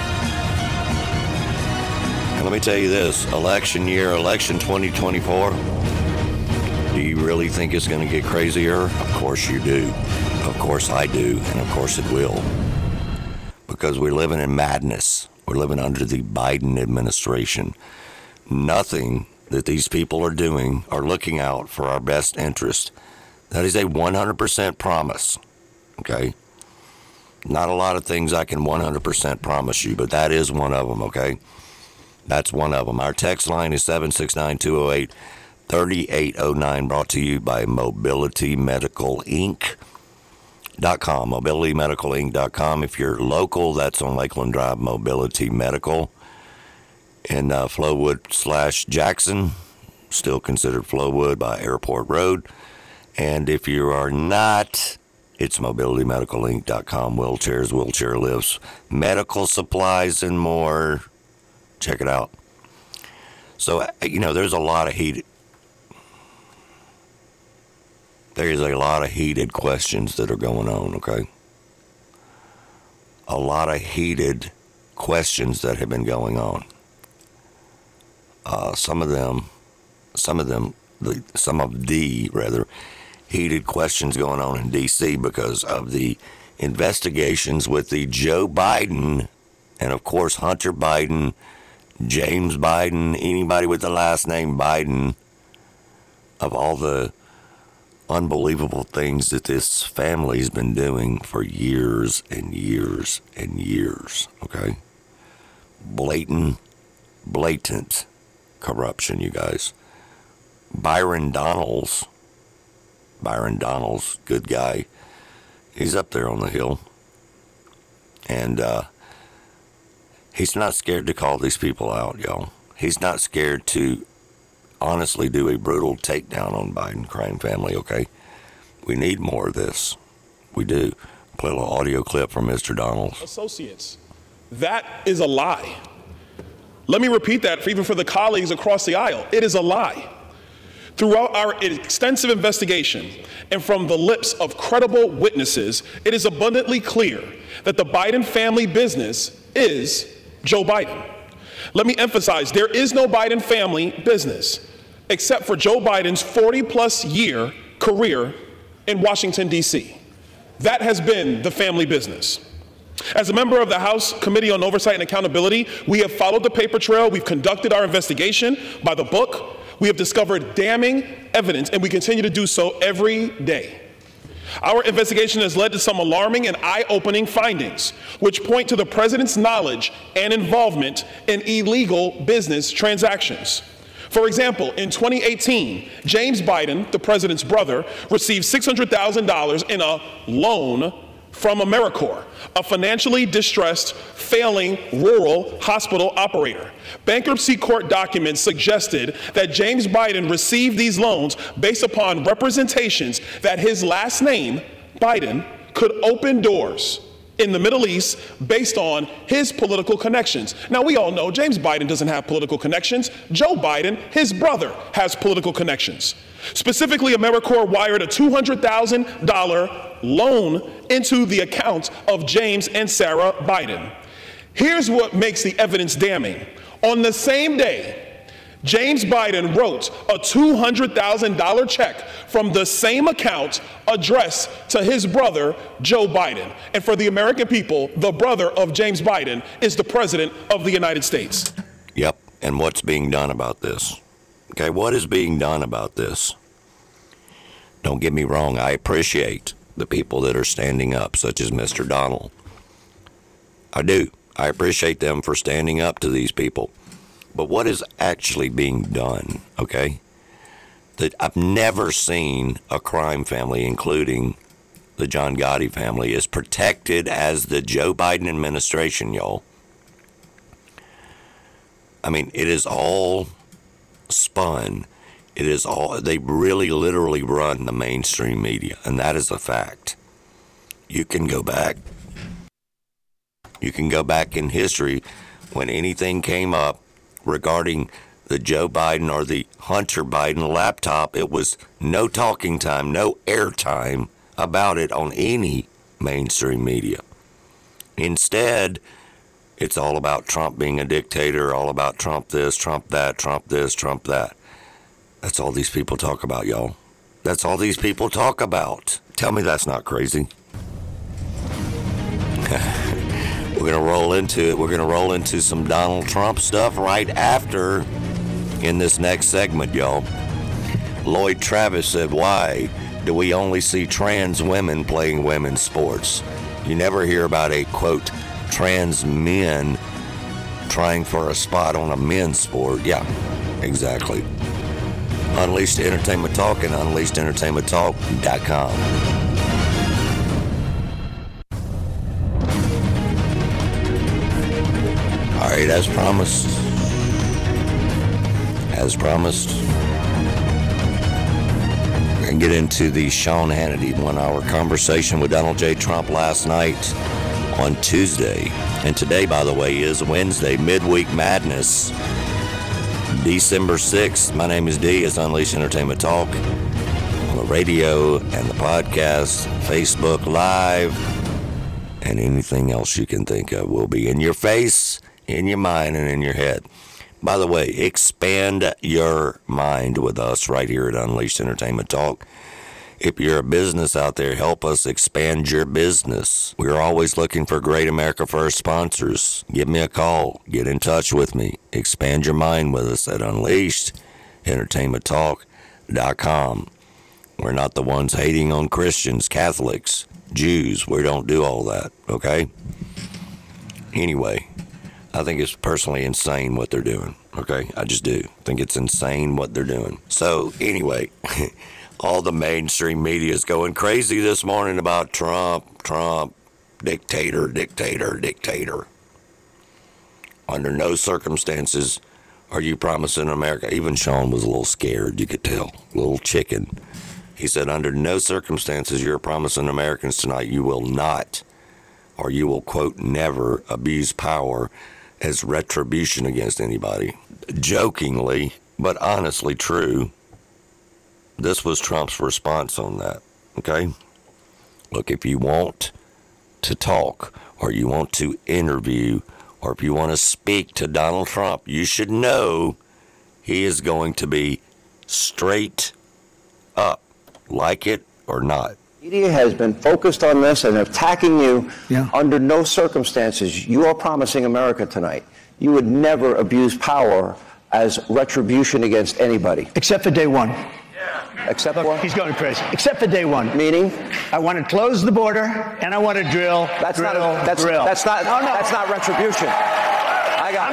And let me tell you this, election 2024, do you really think it's going to get crazier? Of course you do. Of course I do. And of course it will. Because we're living in madness. We're living under the Biden administration. Nothing that these people are doing are looking out for our best interest. That is a 100% promise, okay? Not a lot of things I can 100% promise you, but that is one of them, okay? That's one of them. Our text line is 769-208-3809, brought to you by MobilityMedicalInc.com, MobilityMedicalInc.com. If you're local, that's on Lakeland Drive, Mobility Medical. In Flowood/Jackson, still considered Flowood by Airport Road. And if you are not, it's MobilityMedicalInc.com. Wheelchairs, wheelchair lifts, medical supplies, and more. Check it out. So, there's a lot of heated questions that are going on, okay? A lot of heated questions that have been going on. Some of the heated questions going on in D.C. because of the investigations with the Joe Biden and, of course, Hunter Biden, James Biden, anybody with the last name Biden, of all the unbelievable things that this family's been doing for years and years and years, okay? Blatant corruption, you guys. Byron Donalds, good guy. He's up there on the Hill. And he's not scared to call these people out, y'all. He's not scared to honestly do a brutal takedown on Biden crime family, okay? We need more of this. We do. Play a little audio clip from Mr. Donalds. Associates. That is a lie. Let me repeat that even for the colleagues across the aisle. It is a lie. Throughout our extensive investigation and from the lips of credible witnesses, it is abundantly clear that the Biden family business is Joe Biden. Let me emphasize, there is no Biden family business except for Joe Biden's 40-plus year career in Washington, D.C. That has been the family business. As a member of the House Committee on Oversight and Accountability, we have followed the paper trail. We've conducted our investigation by the book. We have discovered damning evidence, and we continue to do so every day. Our investigation has led to some alarming and eye-opening findings, which point to the president's knowledge and involvement in illegal business transactions. For example, in 2018, James Biden, the president's brother, received $600,000 in a loan from AmeriCorps, a financially distressed, failing rural hospital operator. Bankruptcy court documents suggested that James Biden received these loans based upon representations that his last name, Biden, could open doors in the Middle East based on his political connections. Now, we all know James Biden doesn't have political connections. Joe Biden, his brother, has political connections. Specifically, AmeriCorps wired a $200,000 loan into the account of James and Sarah Biden. Here's what makes the evidence damning. On the same day, James Biden wrote a $200,000 check from the same account addressed to his brother, Joe Biden. And for the American people, the brother of James Biden is the president of the United States. Yep. And what's being done about this? Okay, what is being done about this? Don't get me wrong, I appreciate the people that are standing up, such as Mr. Donald. I do. I appreciate them for standing up to these people. But what is actually being done, okay? That I've never seen a crime family, including the John Gotti family, as protected as the Joe Biden administration, y'all. I mean, it is all spun. It is all, they really literally run the mainstream media, and that is a fact. You can go back in history when anything came up regarding the Joe Biden or the Hunter Biden laptop, it was no talking time, no airtime about it on any mainstream media. Instead, it's all about Trump being a dictator, all about Trump this, Trump that, Trump this, Trump that. That's all these people talk about, y'all. That's all these people talk about. Tell me that's not crazy. We're going to roll into it. We're going to roll into some Donald Trump stuff right after in this next segment, y'all. Lloyd Travis said, why do we only see trans women playing women's sports? You never hear about a, quote, trans men trying for a spot on a men's sport. Yeah, exactly. Unleashed Entertainment Talk and UnleashedEntertainmentTalk.com. All right, as promised, we're going to get into the Sean Hannity 1 hour conversation with Donald J. Trump last night on Tuesday. And today, by the way, is Wednesday, Midweek Madness, December 6th. My name is D. It's Unleashed Entertainment Talk on the radio and the podcast, Facebook Live, and anything else you can think of will be in your face, in your mind, and in your head. By the way, expand your mind with us right here at Unleashed Entertainment Talk. If you're a business out there, help us expand your business. We're always looking for great America First sponsors. Give me a call. Get in touch with me. Expand your mind with us at UnleashedEntertainmentTalk.com. We're not the ones hating on Christians, Catholics, Jews. We don't do all that, okay? Anyway, I think it's personally insane what they're doing, okay? I just do. I think it's insane what they're doing. So, anyway, all the mainstream media is going crazy this morning about Trump, dictator. Under no circumstances are you promising America. Even Sean was a little scared, you could tell, a little chicken. He said, under no circumstances you're promising Americans tonight you will not, or you will, quote, never abuse power as retribution against anybody. Jokingly, but honestly true, this was Trump's response on that, okay? Look, if you want to talk, or you want to interview, or if you want to speak to Donald Trump, you should know he is going to be straight up, like it or not. Media has been focused on this and attacking you. Under no circumstances, you are promising America tonight you would never abuse power as retribution against anybody. Except for day one. Except Look, what? he's going crazy. Except for day one. Meaning? I want to close the border and I want to drill. That's drill. not retribution. I'm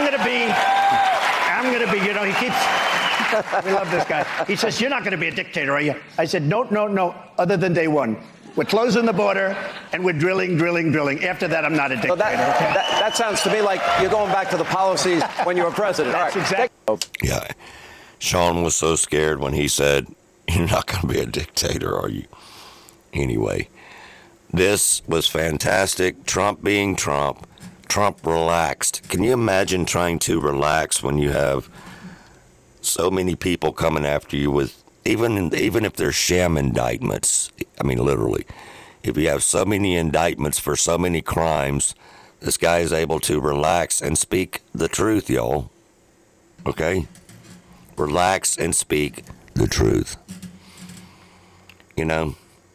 going to be, you know, he keeps, we love this guy. He says, you're not going to be a dictator, are you? I said, no, other than day one. We're closing the border and we're drilling. After that, I'm not a dictator. So that sounds to me like you're going back to the policies when you were president. That's exactly. Yeah. Sean was so scared when he said, you're not going to be a dictator, are you? Anyway, this was fantastic. Trump being Trump. Trump relaxed. Can you imagine trying to relax when you have so many people coming after you with, even if they're sham indictments, I mean, literally, if you have so many indictments for so many crimes, this guy is able to relax and speak the truth, y'all. Okay? Relax and speak the truth. You know?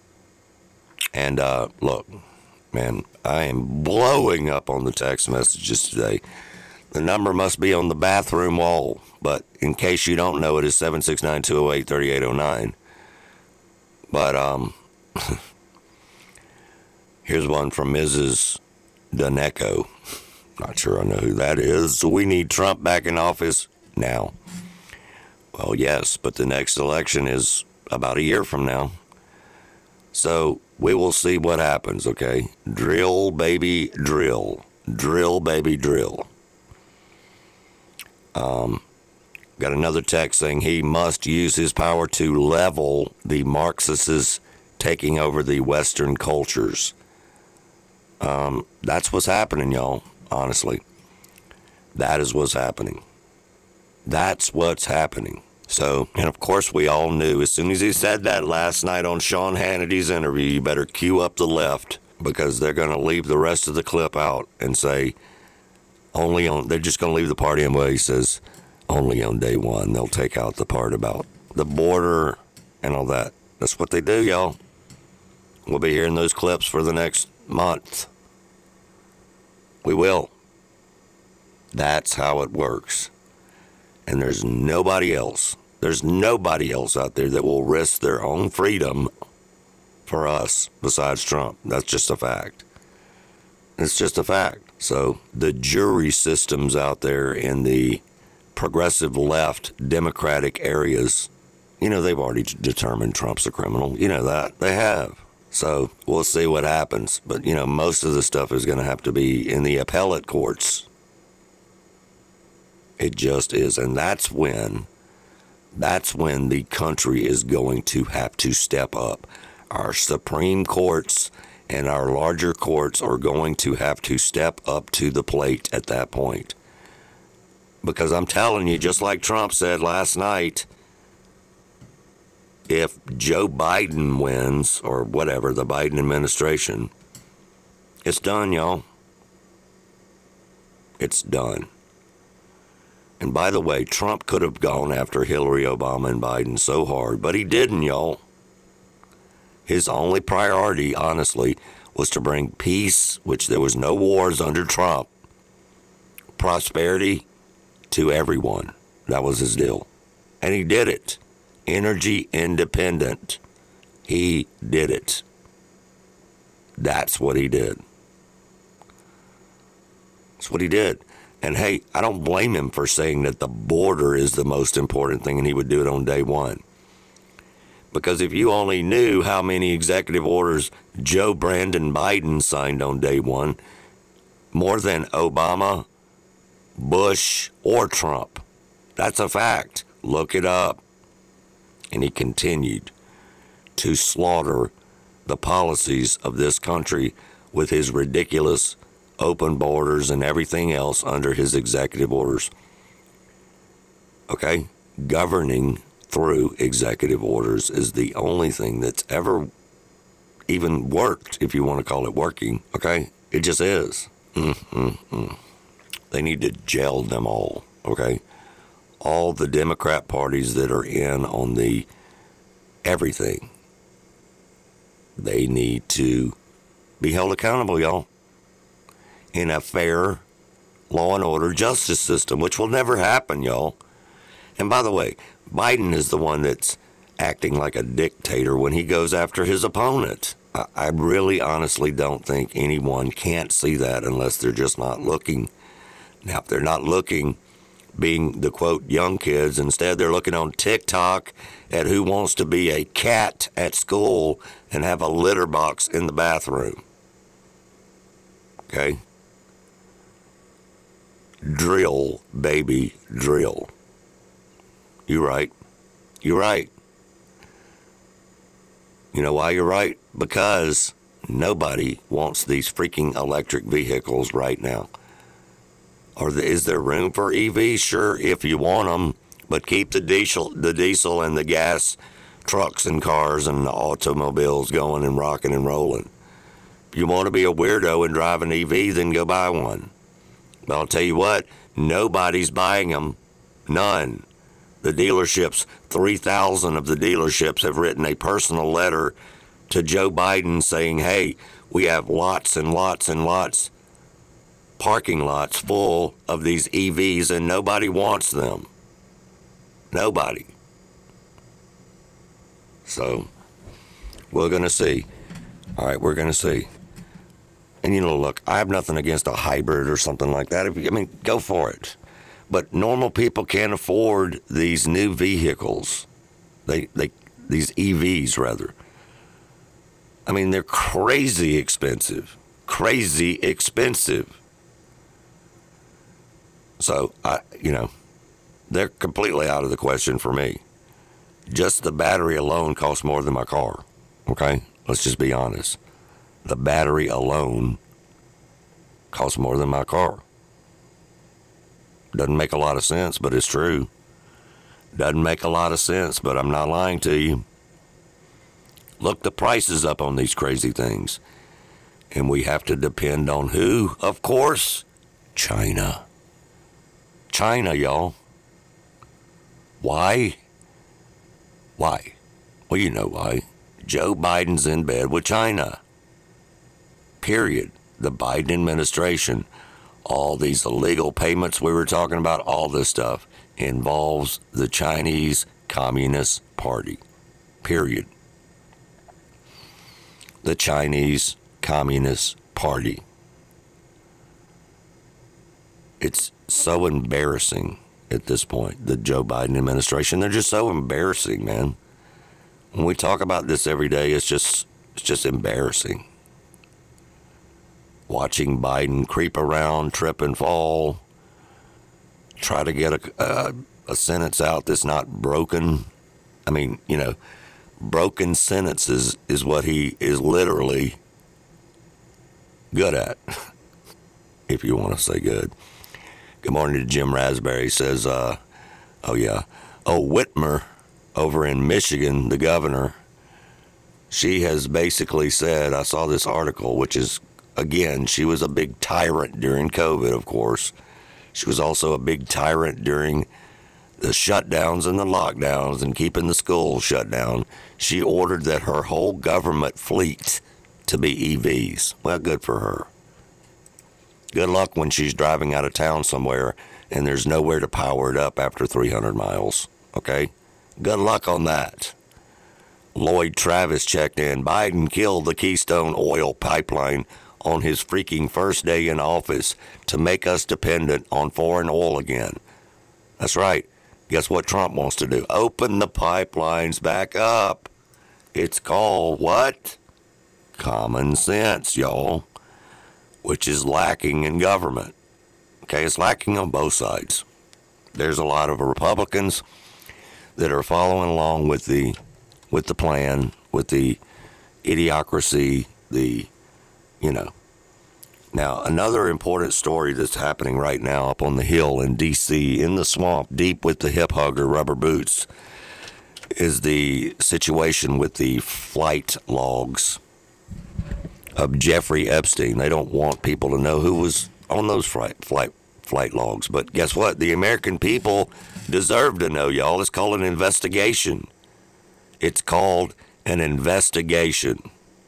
And look, man, I am blowing up on the text messages today. The number must be on the bathroom wall, but in case you don't know, it is 769-208-3809. But here's one from Mrs. Daneco. Not sure I know who that is. We need Trump back in office now. Well, yes, but the next election is about a year from now. So we will see what happens, okay? Drill, baby, drill. Drill, baby, drill. Got another text saying he must use his power to level the Marxists taking over the Western cultures. That's what's happening, y'all, honestly. That is what's happening. That's what's happening. So, and of course we all knew as soon as he said that last night on Sean Hannity's interview, you better cue up the left because they're going to leave the rest of the clip out and say they're just going to leave the part in where he says only on day one. They'll take out the part about the border and all that. That's what they do, y'all. We'll be hearing those clips for the next month. We will. That's how it works. And there's nobody else. There's nobody else out there that will risk their own freedom for us besides Trump. That's just a fact. It's just a fact. So the jury systems out there in the progressive left Democratic areas, they've already determined Trump's a criminal. You know that. They have. So we'll see what happens. But, most of the stuff is going to have to be in the appellate courts. It just is. And that's when the country is going to have to step up. Our Supreme Courts and our larger courts are going to have to step up to the plate at that point. Because I'm telling you, just like Trump said last night, if Joe Biden wins, or whatever, the Biden administration, it's done, y'all. It's done. And by the way, Trump could have gone after Hillary, Obama, and Biden so hard, but he didn't, y'all. His only priority, honestly, was to bring peace, which there was no wars under Trump, prosperity to everyone. That was his deal. And he did it. Energy independent. He did it. That's what he did. That's what he did. And hey, I don't blame him for saying that the border is the most important thing and he would do it on day one. Because if you only knew how many executive orders Joe Brandon Biden signed on day one, more than Obama, Bush, or Trump. That's a fact. Look it up. And he continued to slaughter the policies of this country with his ridiculous open borders and everything else under his executive orders. Okay? Governing through executive orders is the only thing that's ever even worked, if you want to call it working. Okay? It just is. They need to jail them all. Okay? All the Democrat parties that are in on the everything, they need to be held accountable, y'all, in a fair law and order justice system, which will never happen, y'all. And by the way, Biden is the one that's acting like a dictator when he goes after his opponent. I really honestly don't think anyone can't see that unless they're just not looking. Now, if they're not looking, being the, quote, young kids, instead they're looking on TikTok at who wants to be a cat at school and have a litter box in the bathroom. Okay? Drill, baby, drill. You're right. You're right. You know why you're right? Because nobody wants these freaking electric vehicles right now. Or is there room for EVs? Sure, if you want them, but keep the diesel and the gas trucks and cars and the automobiles going and rocking and rolling. If you want to be a weirdo and drive an EV, then go buy one. But I'll tell you what, nobody's buying them. None. The dealerships, 3,000 of the dealerships have written a personal letter to Joe Biden saying, hey, we have lots and lots and lots, parking lots full of these EVs and nobody wants them. Nobody. So, we're going to see. All right, we're going to see. And, look, I have nothing against a hybrid or something like that. Go for it. But normal people can't afford these new vehicles. These EVs, rather. They're crazy expensive. Crazy expensive. So, they're completely out of the question for me. Just the battery alone costs more than my car. Okay? Let's just be honest. The battery alone costs more than my car. Doesn't make a lot of sense, but it's true. Doesn't make a lot of sense, but I'm not lying to you. Look the prices up on these crazy things. And we have to depend on who? Of course, China. China, y'all. Why? Why? Well, you know why. Joe Biden's in bed with China. Period. The Biden administration. All these illegal payments we were talking about, all this stuff involves the Chinese Communist Party. Period. The Chinese Communist Party. It's so embarrassing at this point, the Joe Biden administration. They're just so embarrassing, man. When we talk about this every day, it's just embarrassing. Watching Biden creep around, trip and fall, try to get a sentence out that's not broken. I mean, broken sentences is what he is literally good at, if you want to say good. Good morning to Jim Raspberry. Says, Whitmer over in Michigan, the governor, she has basically said, I saw this article, which is, again, she was a big tyrant during COVID, of course. She was also a big tyrant during the shutdowns and the lockdowns and keeping the schools shut down. She ordered that her whole government fleet to be EVs. Well, good for her. Good luck when she's driving out of town somewhere and there's nowhere to power it up after 300 miles. Okay? Good luck on that. Lloyd Travis checked in. Biden killed the Keystone Oil Pipeline on his freaking first day in office to make us dependent on foreign oil again. That's right. Guess what Trump wants to do? Open the pipelines back up. It's called what? Common sense, y'all, which is lacking in government. Okay, it's lacking on both sides. There's a lot of Republicans that are following along with the plan, with the idiocracy, Now, another important story that's happening right now up on the Hill in D.C., in the swamp, deep with the hip hugger rubber boots, is the situation with the flight logs of Jeffrey Epstein. They don't want people to know who was on those flight logs. But guess what? The American people deserve to know, y'all. It's called an investigation. It's called an investigation.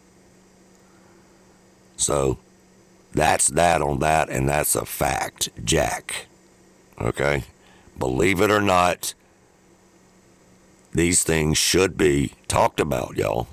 So that's that on that, and that's a fact, Jack. Okay? Believe it or not, these things should be talked about, y'all.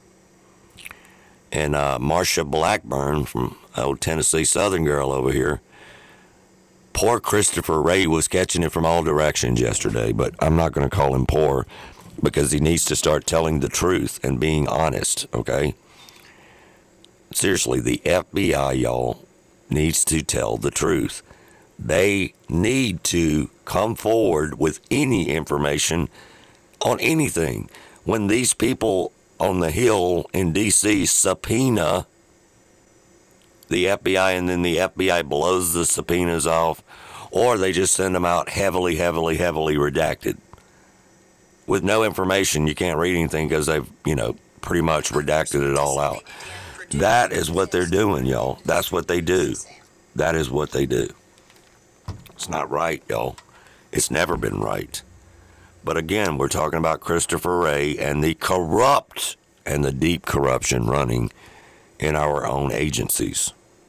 And Marsha Blackburn from old Tennessee Southern girl over here, poor Christopher Wray was catching it from all directions yesterday, but I'm not going to call him poor because he needs to start telling the truth and being honest, okay? Seriously, the FBI, y'all, needs to tell the truth. They need to come forward with any information on anything. When these people on the Hill in D.C. subpoena the FBI and then the FBI blows the subpoenas off, or they just send them out heavily redacted. With no information, you can't read anything because they've, pretty much redacted it all out. That is what they're doing, y'all. That's what they do. That is what they do. It's not right, y'all. It's never been right. But again, we're talking about Christopher Wray and the corrupt and the deep corruption running in our own agencies.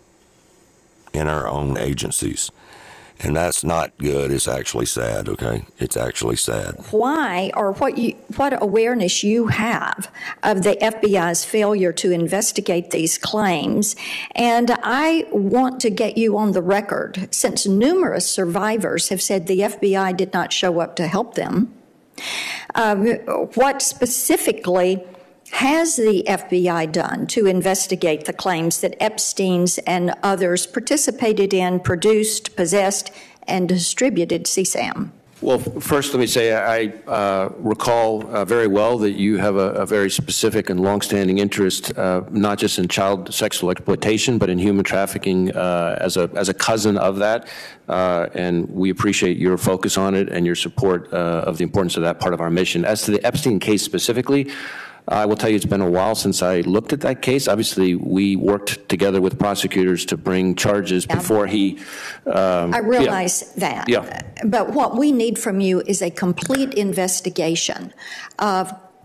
And that's not good. It's actually sad, okay? It's actually sad. Why, or what awareness you have of the FBI's failure to investigate these claims? And I want to get you on the record, since numerous survivors have said the FBI did not show up to help them. What specifically has the FBI done to investigate the claims that Epstein's and others participated in, produced, possessed, and distributed CSAM? Well, first, let me say I recall very well that you have a very specific and longstanding interest, not just in child sexual exploitation, but in human trafficking as a cousin of that. And we appreciate your focus on it and your support of the importance of that part of our mission. As to the Epstein case specifically, I will tell you it's been a while since I looked at that case. Obviously, we worked together with prosecutors to bring charges before he... I realize that. Yeah. But what we need from you is a complete investigation of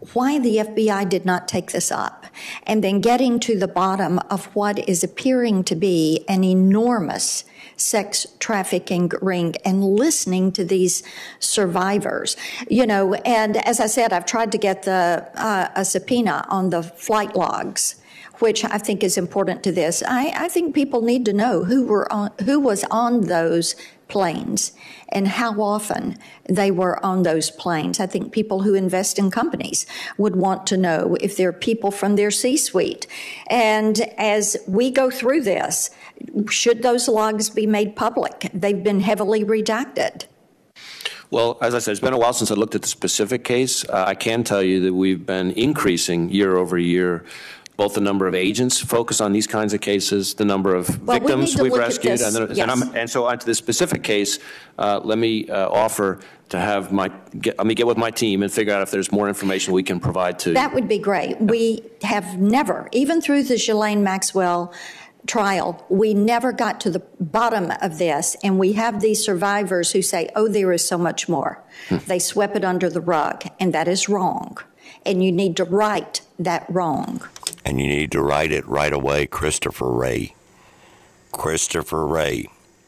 why the FBI did not take this up, and then getting to the bottom of what is appearing to be an enormous sex trafficking ring and listening to these survivors. And as I said, I've tried to get a subpoena on the flight logs, which I think is important to this. I think people need to know who was on those planes and how often they were on those planes. I think people who invest in companies would want to know if they're people from their C-suite. And as we go through this, should those logs be made public? They've been heavily redacted. Well, as I said, it's been a while since I looked at the specific case. I can tell you that we've been increasing year over year both the number of agents focused on these kinds of cases, the number of victims we've rescued, and so onto this specific case. Let me offer to have let me get with my team and figure out if there's more information we can provide to you. That would be great. We have never, even through the Ghislaine Maxwell trial, we never got to the bottom of this, and we have these survivors who say, oh, there is so much more. They swept it under the rug, and that is wrong. And you need to right that wrong. And you need to write it right away, Christopher Wray. Christopher Wray.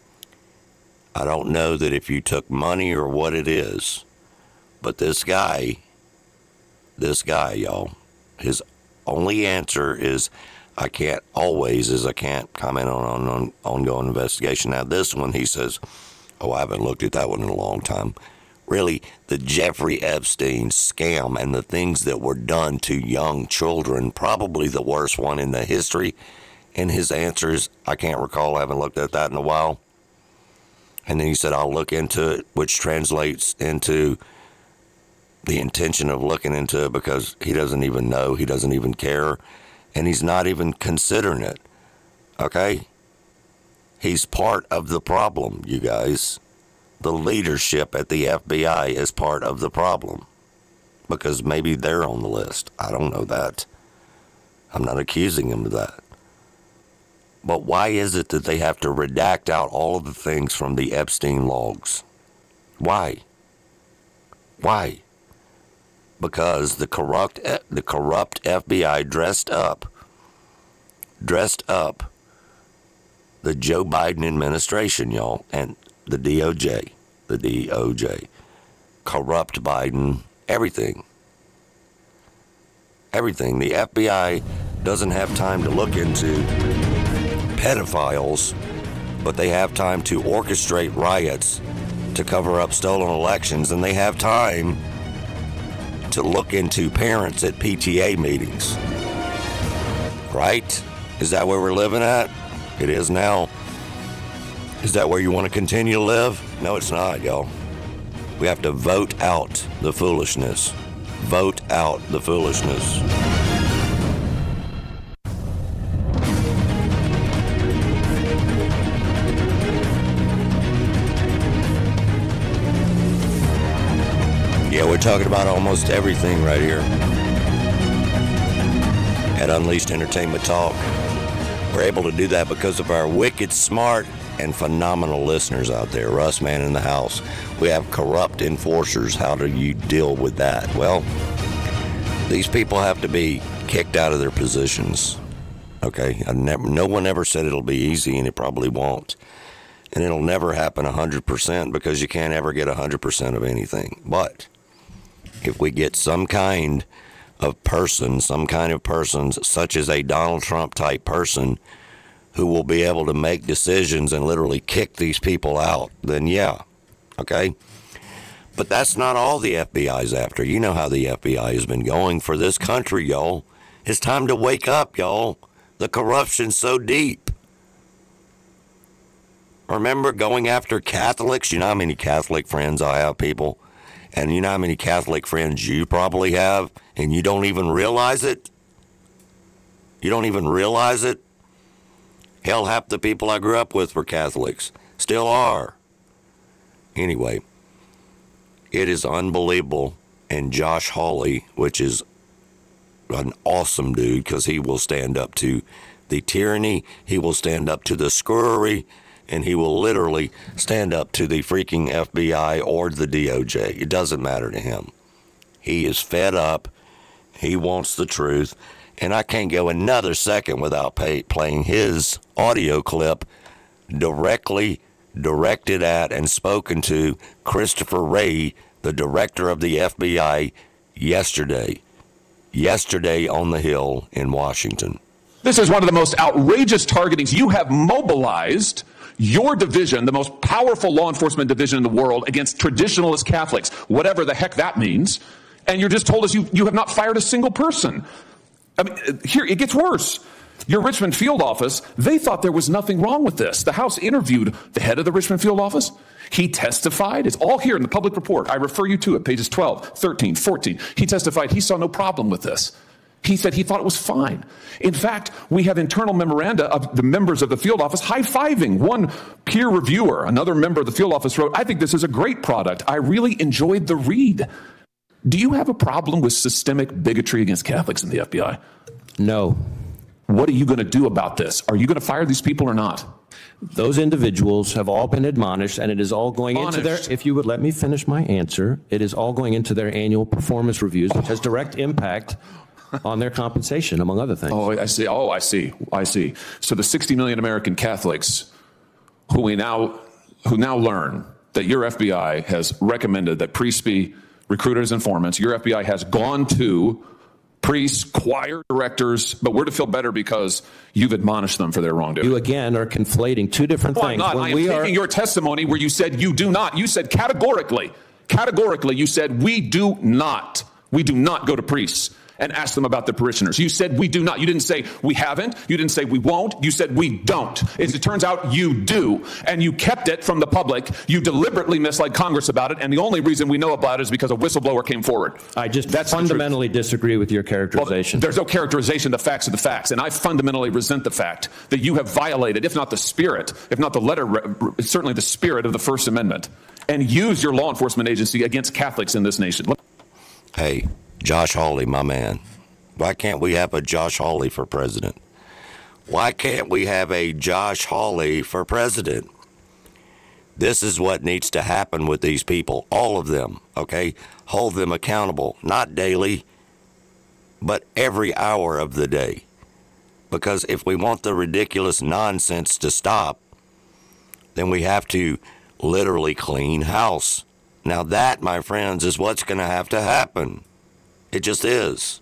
I don't know that if you took money or what it is, but this guy, y'all, his only answer is, I can't comment on an ongoing investigation. Now, this one, he says, I haven't looked at that one in a long time. Really, the Jeffrey Epstein scam and the things that were done to young children, probably the worst one in the history. And his answer is, I can't recall, I haven't looked at that in a while. And then he said, I'll look into it, which translates into the intention of looking into it because he doesn't even know, he doesn't even care, and he's not even considering it. Okay? He's part of the problem, you guys. The leadership at the FBI is part of the problem because maybe they're on the list. I don't know that. I'm not accusing him of that. But why is it that they have to redact out all of the things from the Epstein logs? Why? Why? Because the corrupt FBI dressed up the Joe Biden administration, y'all, and the DOJ, corrupt Biden, everything. The FBI doesn't have time to look into pedophiles, but they have time to orchestrate riots to cover up stolen elections, and they have time to look into parents at PTA meetings. Right? Is that where we're living at? It is now. Is that where you want to continue to live? No, it's not, y'all. We have to vote out the foolishness. Vote out the foolishness. Yeah, we're talking about almost everything right here at Unleashed Entertainment Talk. We're able to do that because of our wicked smart and phenomenal listeners out there. Russ, man in the house. We have corrupt enforcers. How do you deal with that? Well, these people have to be kicked out of their positions. Okay? No one ever said it'll be easy, and it probably won't. And it'll never happen 100% because you can't ever get 100% of anything. But if we get some kind of person, such as a Donald Trump type person, who will be able to make decisions and literally kick these people out, then yeah, okay? But that's not all the FBI's after. You know how the FBI has been going for this country, y'all. It's time to wake up, y'all. The corruption's so deep. Remember going after Catholics? You know how many Catholic friends I have, people? And you know how many Catholic friends you probably have, and you don't even realize it? You don't even realize it? Hell, half the people I grew up with were Catholics. Still are. Anyway, it is unbelievable. And Josh Hawley, which is an awesome dude because he will stand up to the tyranny, he will stand up to the screwery, and he will literally stand up to the freaking FBI or the DOJ. It doesn't matter to him. He is fed up. He wants the truth. And I can't go another second without playing his audio clip directly directed at and spoken to Christopher Wray, the director of the FBI, yesterday on the Hill in Washington. This is one of the most outrageous targetings. You have mobilized your division, the most powerful law enforcement division in the world, against traditionalist Catholics, whatever the heck that means. And you just told us you have not fired a single person. I mean, here, it gets worse. Your Richmond field office, they thought there was nothing wrong with this. The House interviewed the head of the Richmond field office. He testified. It's all here in the public report. I refer you to it, pages 12, 13, 14. He testified he saw no problem with this. He said he thought it was fine. In fact, we have internal memoranda of the members of the field office high-fiving. One peer reviewer, another member of the field office, wrote, "I think this is a great product. I really enjoyed the read." Do you have a problem with systemic bigotry against Catholics in the FBI? No. What are you going to do about this? Are you going to fire these people or not? Those individuals have all been admonished, and it is all going into their, if you would let me finish my answer, it is all going into their annual performance reviews, which has direct impact on their compensation, among other things. Oh, I see. So the 60 million American Catholics who now learn that your FBI has recommended that priests be recruited as informants, your FBI has gone to priests, choir directors, but we're to feel better because you've admonished them for their wrongdoing. You again are conflating two different things. I'm not. I am taking your testimony where you said you do not. You said categorically, you said we do not go to priests and ask them about the parishioners. You said we do not. You didn't say we haven't. You didn't say we won't. You said we don't. As it turns out, you do. And you kept it from the public. You deliberately misled Congress about it. And the only reason we know about it is because a whistleblower came forward. I just fundamentally disagree with your characterization. Well, there's no characterization. The facts are the facts. And I fundamentally resent the fact that you have violated, if not the spirit, if not the letter, certainly the spirit of the First Amendment, and used your law enforcement agency against Catholics in this nation. Hey, Josh Hawley, my man. Why can't we have a Josh Hawley for president? Why can't we have a Josh Hawley for president? This is what needs to happen with these people, all of them, okay? Hold them accountable, not daily, but every hour of the day. Because if we want the ridiculous nonsense to stop, then we have to literally clean house. Now that, my friends, is what's going to happen. It just is.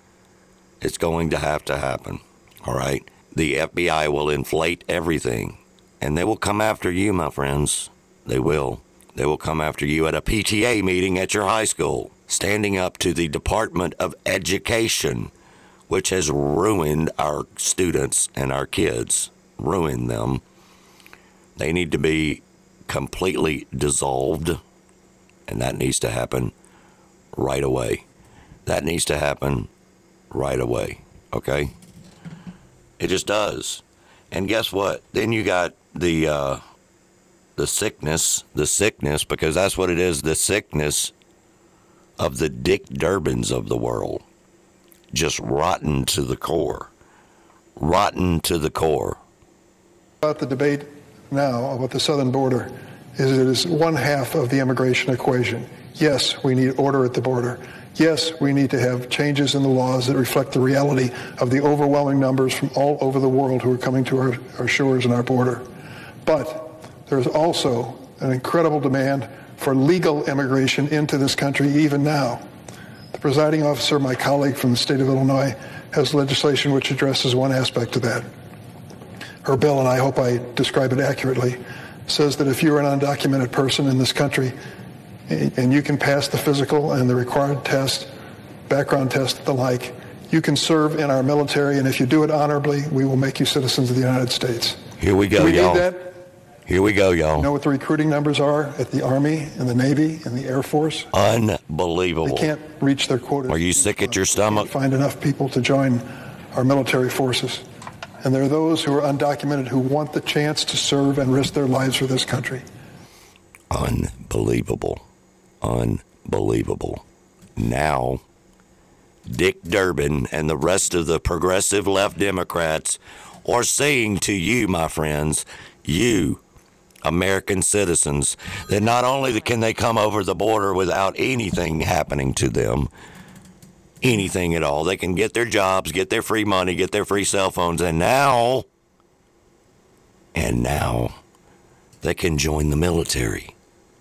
It's going to happen, all right? The FBI will inflate everything, and they will come after you, my friends. They will. They will come after you at a PTA meeting at your high school, standing up to the Department of Education, which has ruined our students and our kids, ruined them. They need to be completely dissolved, and that needs to happen right away. That needs to happen right away, okay? It just does. And guess what? Then you got the sickness, because that's what it is, the sickness of the Dick Durbins of the world. Just rotten to the core. Rotten to the core. About the debate now about the southern border is it is one half of the immigration equation. Yes, we need order at the border. Yes, we need to have changes in the laws that reflect the reality of the overwhelming numbers from all over the world who are coming to our shores and our border. But there's also an incredible demand for legal immigration into this country even now. The presiding officer, my colleague from the state of Illinois, has legislation which addresses one aspect of that. Her bill, and I hope I describe it accurately, says that if you're an undocumented person in this country and you can pass the physical and the required test, background test, the like, you can serve in our military, and if you do it honorably, we will make you citizens of the United States. Here we go, do we y'all. Need that? Here we go, y'all. You know what the recruiting numbers are at the Army and the Navy and the Air Force? Unbelievable. They can't reach their quota. Are you sick at your stomach? They can't find enough people to join our military forces. And there are those who are undocumented who want the chance to serve and risk their lives for this country. Unbelievable. Unbelievable. Now, Dick Durbin and the rest of the progressive left Democrats are saying to you, my friends, you, American citizens, that not only can they come over the border without anything happening to them, anything at all. They can get their jobs, get their free money, get their free cell phones, and now they can join the military.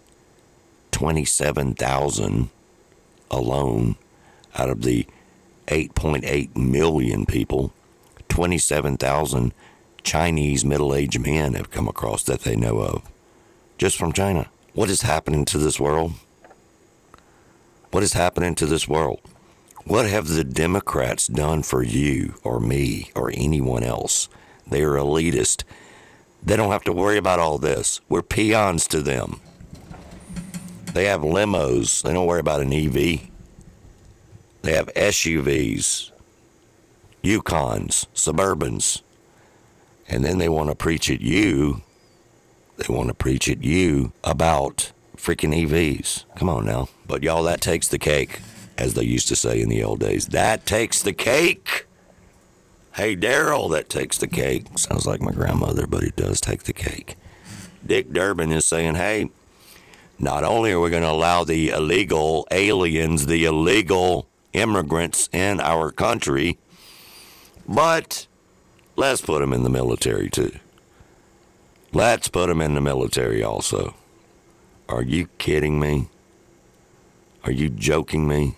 27,000 alone out of the 8.8 million people. 27,000 Chinese middle-aged men have come across that they know of, just from China. What is happening to this world? What is happening to this world? What have the Democrats done for you or me or anyone else? They are elitist. They don't have to worry about all this. We're peons to them. They have limos. They don't worry about an EV. They have SUVs, Yukons, Suburbans. And then they want to preach at you. They want to preach at you about freaking EVs. Come on now. But y'all, that takes the cake, as they used to say in the old days. That takes the cake. Hey, Daryl, that takes the cake. Sounds like my grandmother, but it does take the cake. Dick Durbin is saying, hey, not only are we going to allow the illegal aliens, the illegal immigrants in our country, but let's put them in the military too. Let's put them in the military also. Are you kidding me? Are you joking me?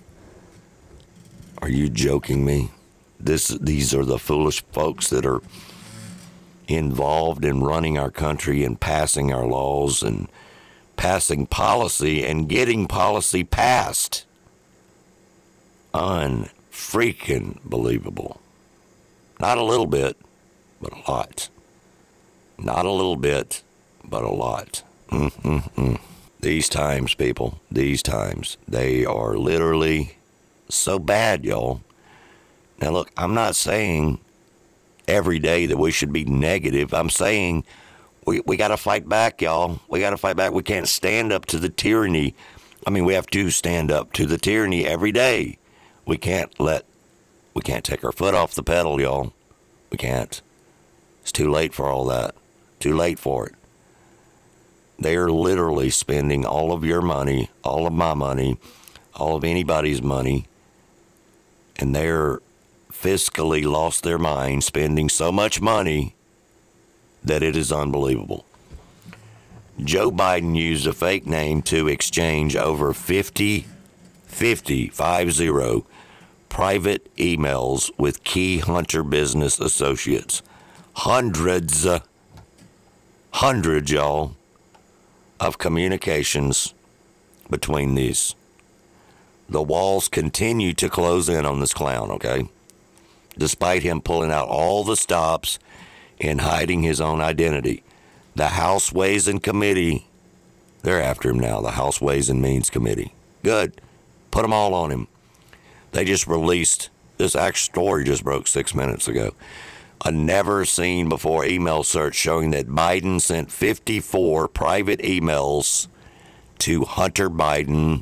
Are you joking me? These are the foolish folks that are involved in running our country and passing our laws and passing policy and getting policy passed. Unfreaking believable. Not a little bit, but a lot. Not a little bit, but a lot. These times, people, these times, they are literally so bad, y'all. Now, look, I'm not saying every day that we should be negative. I'm saying we got to fight back, y'all. We got to fight back. We can't stand up to the tyranny. I mean, we have to stand up to the tyranny every day. We can't take our foot off the pedal, y'all. We can't. It's too late for all that. Too late for it. They are literally spending all of your money, all of my money, all of anybody's money, and they're fiscally lost their mind, spending so much money that it is unbelievable. Joe Biden used a fake name to exchange over 50 private emails with key Hunter business associates. Hundreds, y'all, of communications between these. The walls continue to close in on this clown, okay? Despite him pulling out all the stops and hiding his own identity. The House Ways and Committee, they're after him now, the House Ways and Means Committee. Good. Put them all on him. They just released, this actual story just broke 6 minutes ago, a never-seen-before email search showing that Biden sent 54 private emails to Hunter Biden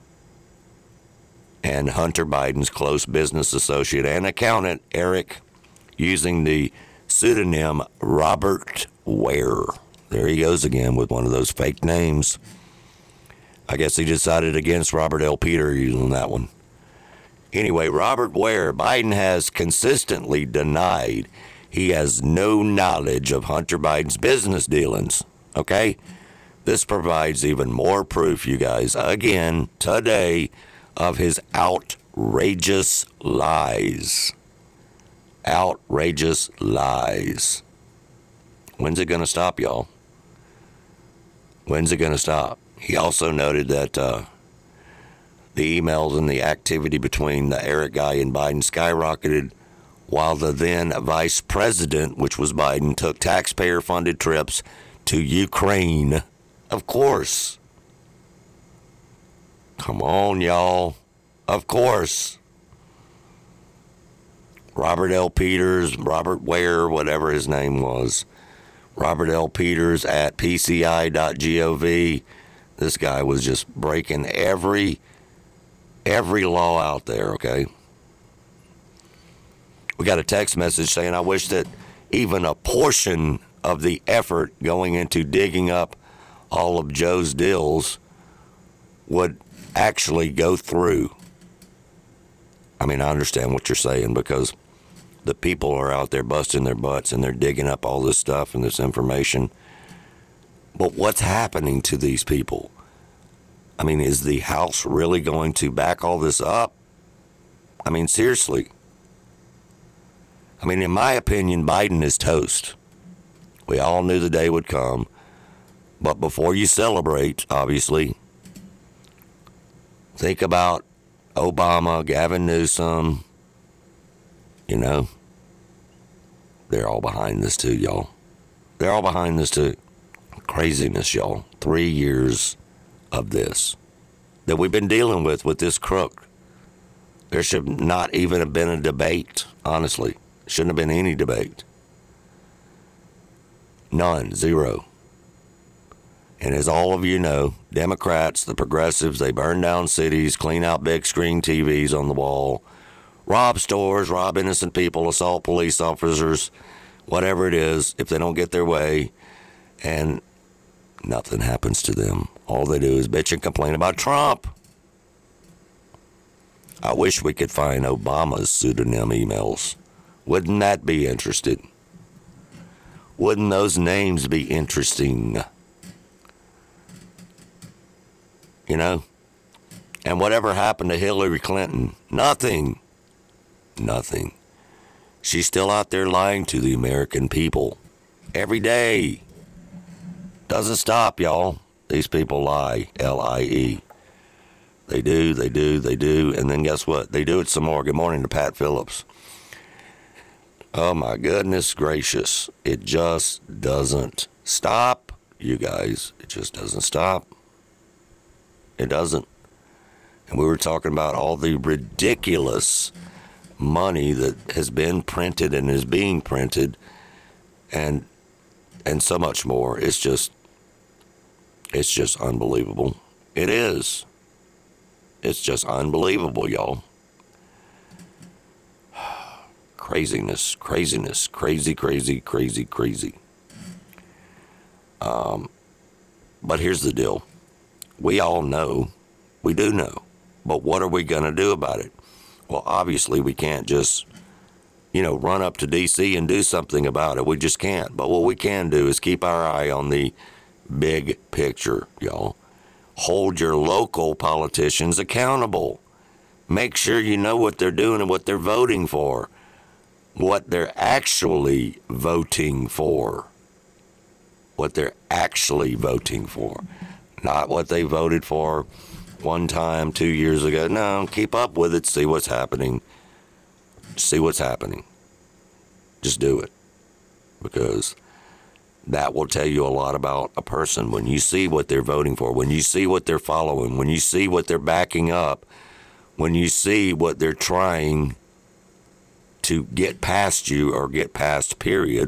and Hunter Biden's close business associate and accountant, Eric, using the pseudonym Robert Ware. There he goes again with one of those fake names. I guess he decided against Robert L. Peter using that one. Anyway, Robert Ware, Biden has consistently denied he has no knowledge of Hunter Biden's business dealings. Okay? This provides even more proof, you guys, again, today, of his outrageous lies. Outrageous lies. When's it going to stop, y'all? When's it going to stop? He also noted that the emails and the activity between the Eric guy and Biden skyrocketed while the then vice president, which was Biden, took taxpayer-funded trips to Ukraine. Of course. Come on, y'all. Of course. Robert L. Peters, Robert Ware, whatever his name was. Robert L. Peters at PCI.gov. This guy was just breaking every law out there, okay? We got a text message saying, I wish that even a portion of the effort going into digging up all of Joe's deals would actually go through. I mean, I understand what you're saying because the people are out there busting their butts and they're digging up all this stuff and this information. But what's happening to these people? I mean, is the House really going to back all this up? I mean, seriously. I mean, in my opinion, Biden is toast. We all knew the day would come. But before you celebrate, obviously, think about Obama, Gavin Newsom. You know, they're all behind this too, y'all. They're all behind this too. Craziness, y'all. 3 years of this that we've been dealing with this crook. There should not even have been a debate, honestly. Shouldn't have been any debate. None. Zero. And as all of you know, Democrats, the progressives, they burn down cities, clean out big screen TVs on the wall, rob stores, rob innocent people, assault police officers, whatever it is, if they don't get their way, and nothing happens to them. All they do is bitch and complain about Trump. I wish we could find Obama's pseudonym emails. Wouldn't that be interesting? Wouldn't those names be interesting? You know? And whatever happened to Hillary Clinton? Nothing. Nothing. She's still out there lying to the American people. Every day. Doesn't stop, y'all. These people lie. L-I-E. They do. And then guess what? They do it some more. Good morning to Pat Phillips. Oh, my goodness gracious. It just doesn't stop, you guys. It just doesn't stop. It doesn't. And we were talking about all the ridiculous money that has been printed and is being printed and so much more. It's just unbelievable. It is. It's just unbelievable, y'all. Craziness. Crazy. But here's the deal. We all know. We do know. But what are we going to do about it? Well, obviously, we can't just, run up to D.C. and do something about it. We just can't. But what we can do is keep our eye on the big picture, y'all. Hold your local politicians accountable. Make sure you know what they're doing and what they're voting for. What they're actually voting for. What they're actually voting for. Not what they voted for one time 2 years ago. No, keep up with it. See what's happening. See what's happening. Just do it. Because that will tell you a lot about a person. When you see what they're voting for, when you see what they're following, when you see what they're backing up, when you see what they're trying to get past you or get past, period,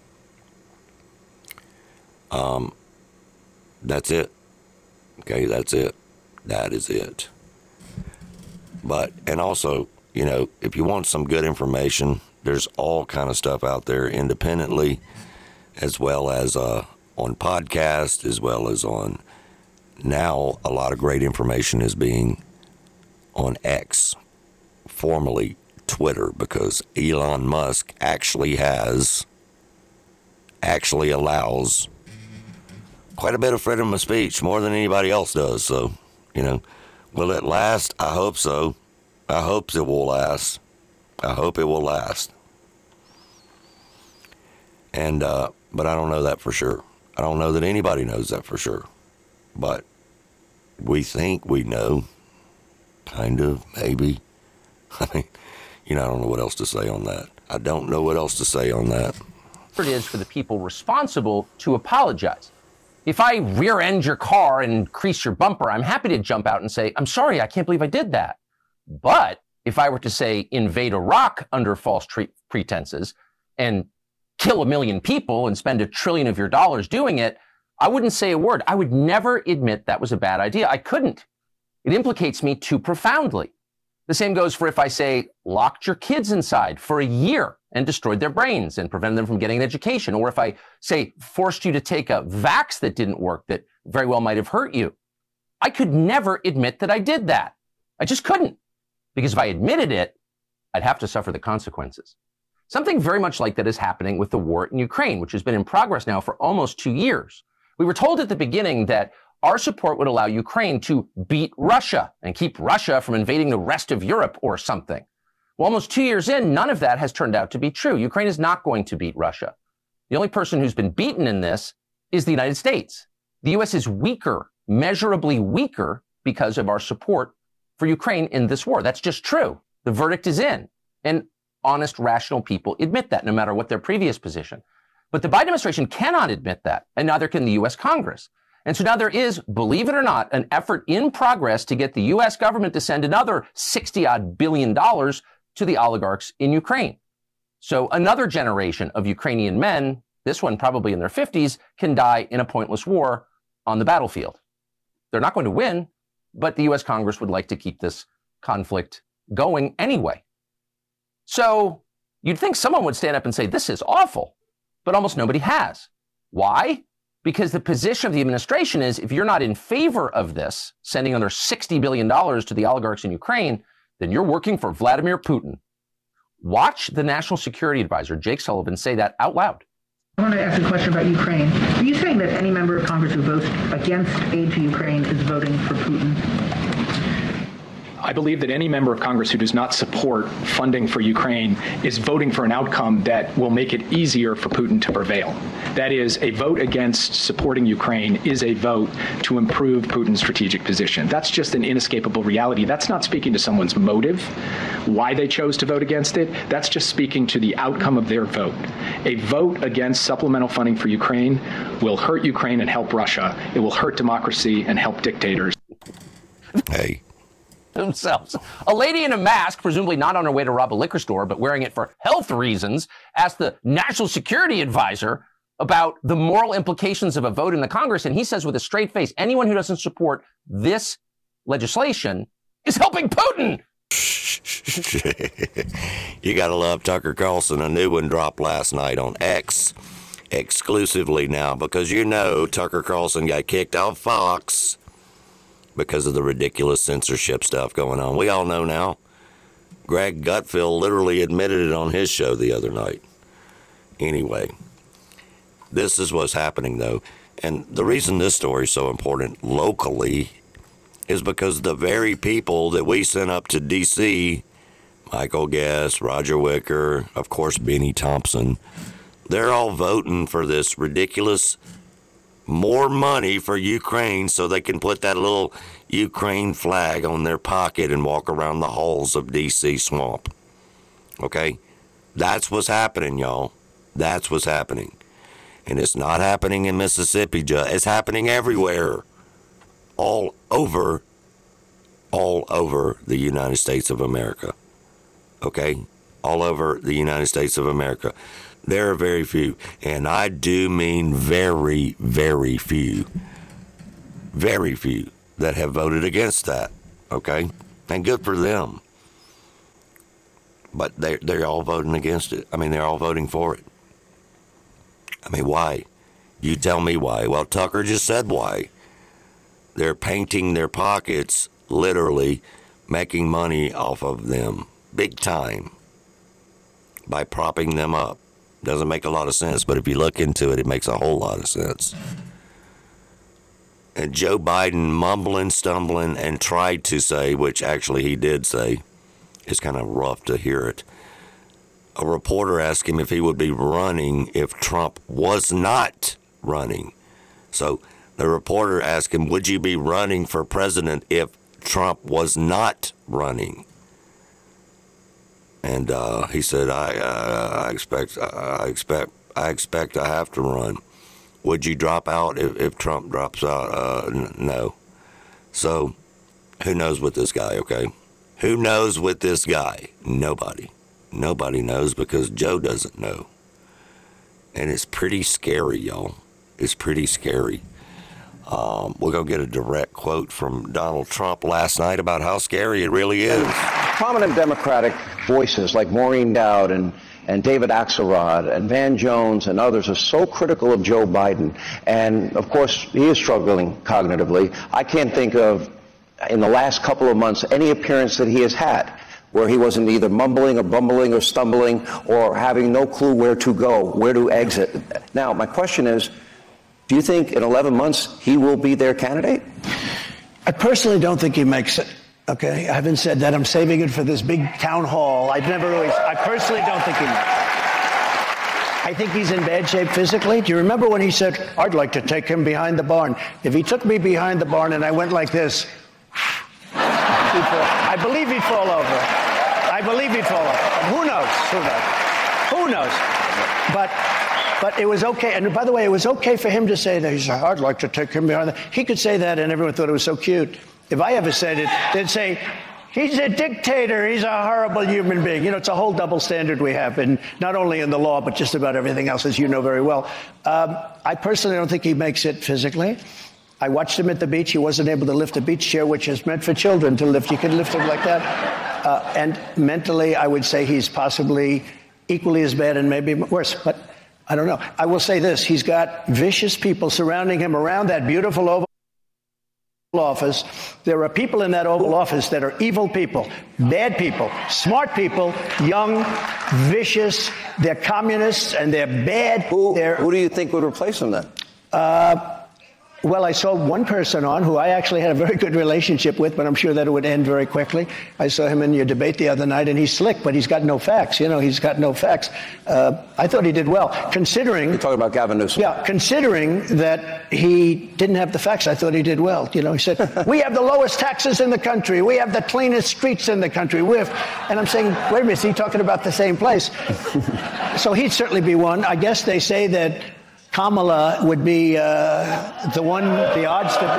that's it. Okay, that's it. That is it. But, and also, if you want some good information, there's all kind of stuff out there independently, as well as on podcast, as well as on, now a lot of great information is being on X, formerly Twitter, because Elon Musk actually allows quite a bit of freedom of speech, more than anybody else does. So, will it last? I hope so. I hope it will last. I hope it will last. And, but I don't know that for sure. I don't know that anybody knows that for sure. But we think we know. Kind of, maybe. I mean, I don't know what else to say on that. I don't know what else to say on that. It is for the people responsible to apologize. If I rear end your car and crease your bumper, I'm happy to jump out and say, I'm sorry, I can't believe I did that. But if I were to say invade Iraq under false pretenses and kill 1 million people and spend $1 trillion of your dollars doing it, I wouldn't say a word. I would never admit that was a bad idea. I couldn't. It implicates me too profoundly. The same goes for if I say locked your kids inside for a year and destroyed their brains and prevented them from getting an education. Or if I say forced you to take a vax that didn't work that very well might have hurt you. I could never admit that I did that. I just couldn't. Because if I admitted it, I'd have to suffer the consequences. Something very much like that is happening with the war in Ukraine, which has been in progress now for almost 2 years. We were told at the beginning that our support would allow Ukraine to beat Russia and keep Russia from invading the rest of Europe or something. Well, almost 2 years in, none of that has turned out to be true. Ukraine is not going to beat Russia. The only person who's been beaten in this is the United States. The U.S. is weaker, measurably weaker, because of our support for Ukraine in this war. That's just true. The verdict is in. And honest, rational people admit that, no matter what their previous position. But the Biden administration cannot admit that, and neither can the U.S. Congress. And so now there is, believe it or not, an effort in progress to get the U.S. government to send another $60-odd billion to the oligarchs in Ukraine. So another generation of Ukrainian men, this one probably in their 50s, can die in a pointless war on the battlefield. They're not going to win, but the U.S. Congress would like to keep this conflict going anyway. So you'd think someone would stand up and say, this is awful, but almost nobody has. Why? Because the position of the administration is, if you're not in favor of this, sending another $60 billion to the oligarchs in Ukraine, then you're working for Vladimir Putin. Watch the National Security Advisor, Jake Sullivan, say that out loud. I want to ask a question about Ukraine. Are you saying that any member of Congress who votes against aid to Ukraine is voting for Putin? I believe that any member of Congress who does not support funding for Ukraine is voting for an outcome that will make it easier for Putin to prevail. That is, a vote against supporting Ukraine is a vote to improve Putin's strategic position. That's just an inescapable reality. That's not speaking to someone's motive, why they chose to vote against it. That's just speaking to the outcome of their vote. A vote against supplemental funding for Ukraine will hurt Ukraine and help Russia. It will hurt democracy and help dictators. Hey. Themselves. A lady in a mask, presumably not on her way to rob a liquor store, but wearing it for health reasons, asked the National Security Advisor about the moral implications of a vote in the Congress. And he says with a straight face, anyone who doesn't support this legislation is helping Putin. You got to love Tucker Carlson. A new one dropped last night on X exclusively now, because you know Tucker Carlson got kicked off Fox because of the ridiculous censorship stuff going on. We all know now. Greg Gutfeld literally admitted it on his show the other night. Anyway, this is what's happening, though. And the reason this story is so important locally is because the very people that we sent up to D.C., Michael Guest, Roger Wicker, of course, Benny Thompson, they're all voting for this ridiculous more money for Ukraine so they can put that little Ukraine flag on their pocket and walk around the halls of D.C. swamp. Okay? That's what's happening, y'all. That's what's happening. And it's not happening in Mississippi. It's happening everywhere. All over the United States of America. Okay? All over the United States of America. There are very few, and I do mean very, very few that have voted against that, okay? And good for them. But they're all voting against it. I mean, they're all voting for it. I mean, why? You tell me why. Well, Tucker just said why. They're painting their pockets, literally making money off of them, big time, by propping them up. Doesn't make a lot of sense, but if you look into it, it makes a whole lot of sense. And Joe Biden mumbling, stumbling, and tried to say, which actually he did say, it's kind of rough to hear it. A reporter asked him if he would be running if Trump was not running. So the reporter asked him, would you be running for president if Trump was not running? And he said, I expect I have to run. Would you drop out if Trump drops out? No. So who knows with this guy, okay? Who knows with this guy? Nobody. Nobody knows because Joe doesn't know. And it's pretty scary, y'all. It's pretty scary. We're going to get a direct quote from Donald Trump last night about how scary it really is. Prominent Democratic voices like Maureen Dowd and David Axelrod and Van Jones and others are so critical of Joe Biden. And, of course, he is struggling cognitively. I can't think of, in the last couple of months, any appearance that he has had where he wasn't either mumbling or bumbling or stumbling or having no clue where to go, where to exit. Now, my question is, do you think in 11 months he will be their candidate? I personally don't think he makes it. Okay, I haven't said that. I'm saving it for this big town hall. I personally don't think he makes it. I think he's in bad shape physically. Do you remember when he said, I'd like to take him behind the barn? If he took me behind the barn and I went like this, I believe he'd fall over. Who knows? But it was okay. And by the way, it was okay for him to say that. He said, I'd like to take him behind the... He could say that and everyone thought it was so cute. If I ever said it, they'd say, he's a dictator. He's a horrible human being. You know, it's a whole double standard we have, and not only in the law, but just about everything else, as you know very well. I personally don't think he makes it physically. I watched him at the beach. He wasn't able to lift a beach chair, which is meant for children to lift. You can lift him like that. And mentally, I would say he's possibly equally as bad and maybe worse. But I don't know. I will say this. He's got vicious people surrounding him around that beautiful Oval Office. There are people in that Oval Office that are evil people, bad people, smart people, young, vicious. They're communists and they're bad. Who do you think would replace him then? Well, I saw one person on who I actually had a very good relationship with, but I'm sure that it would end very quickly. I saw him in your debate the other night, and he's slick, but he's got no facts. You know, he's got no facts. I thought he did well, considering... You're talking about Gavin Newsom. Yeah, considering that he didn't have the facts, I thought he did well. You know, he said, we have the lowest taxes in the country. We have the cleanest streets in the country. And I'm saying, wait a minute, is he talking about the same place? So he'd certainly be one. I guess they say that Kamala would be the odds to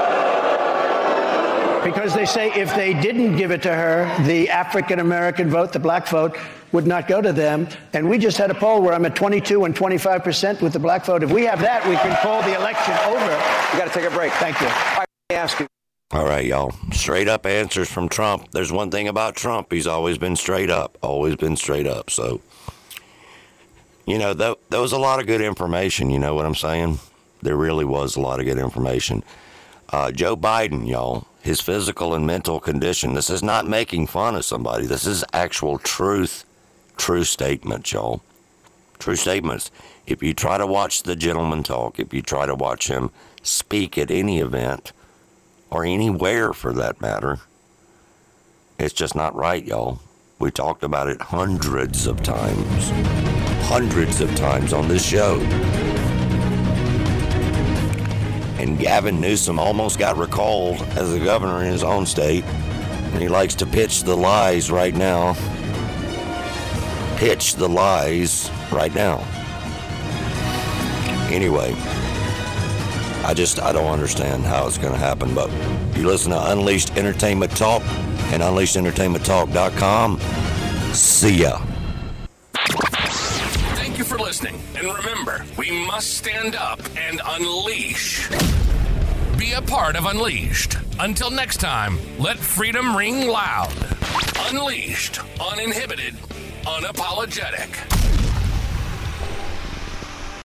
beat. Because they say if they didn't give it to her, the African-American vote, the black vote, would not go to them. And we just had a poll where I'm at 22 and 25% with the black vote. If we have that, we can call the election over. We got to take a break. Thank you. Let me ask you. All right, y'all. Straight up answers from Trump. There's one thing about Trump. He's always been straight up. So... You know, there was a lot of good information, you know what I'm saying? There really was a lot of good information. Joe Biden, y'all, his physical and mental condition, this is not making fun of somebody. This is actual true statements, y'all. True statements. If you try to watch the gentleman talk, if you try to watch him speak at any event, or anywhere for that matter, it's just not right, y'all. We talked about it hundreds of times on this show. And Gavin Newsom almost got recalled as the governor in his own state. And he likes to pitch the lies right now. Anyway, I don't understand how it's going to happen. But you listen to Unleashed Entertainment Talk and UnleashedEntertainmentTalk.com. See ya. Thank you for listening. And remember, we must stand up and unleash. Be a part of Unleashed. Until next time, let freedom ring loud. Unleashed, uninhibited, unapologetic.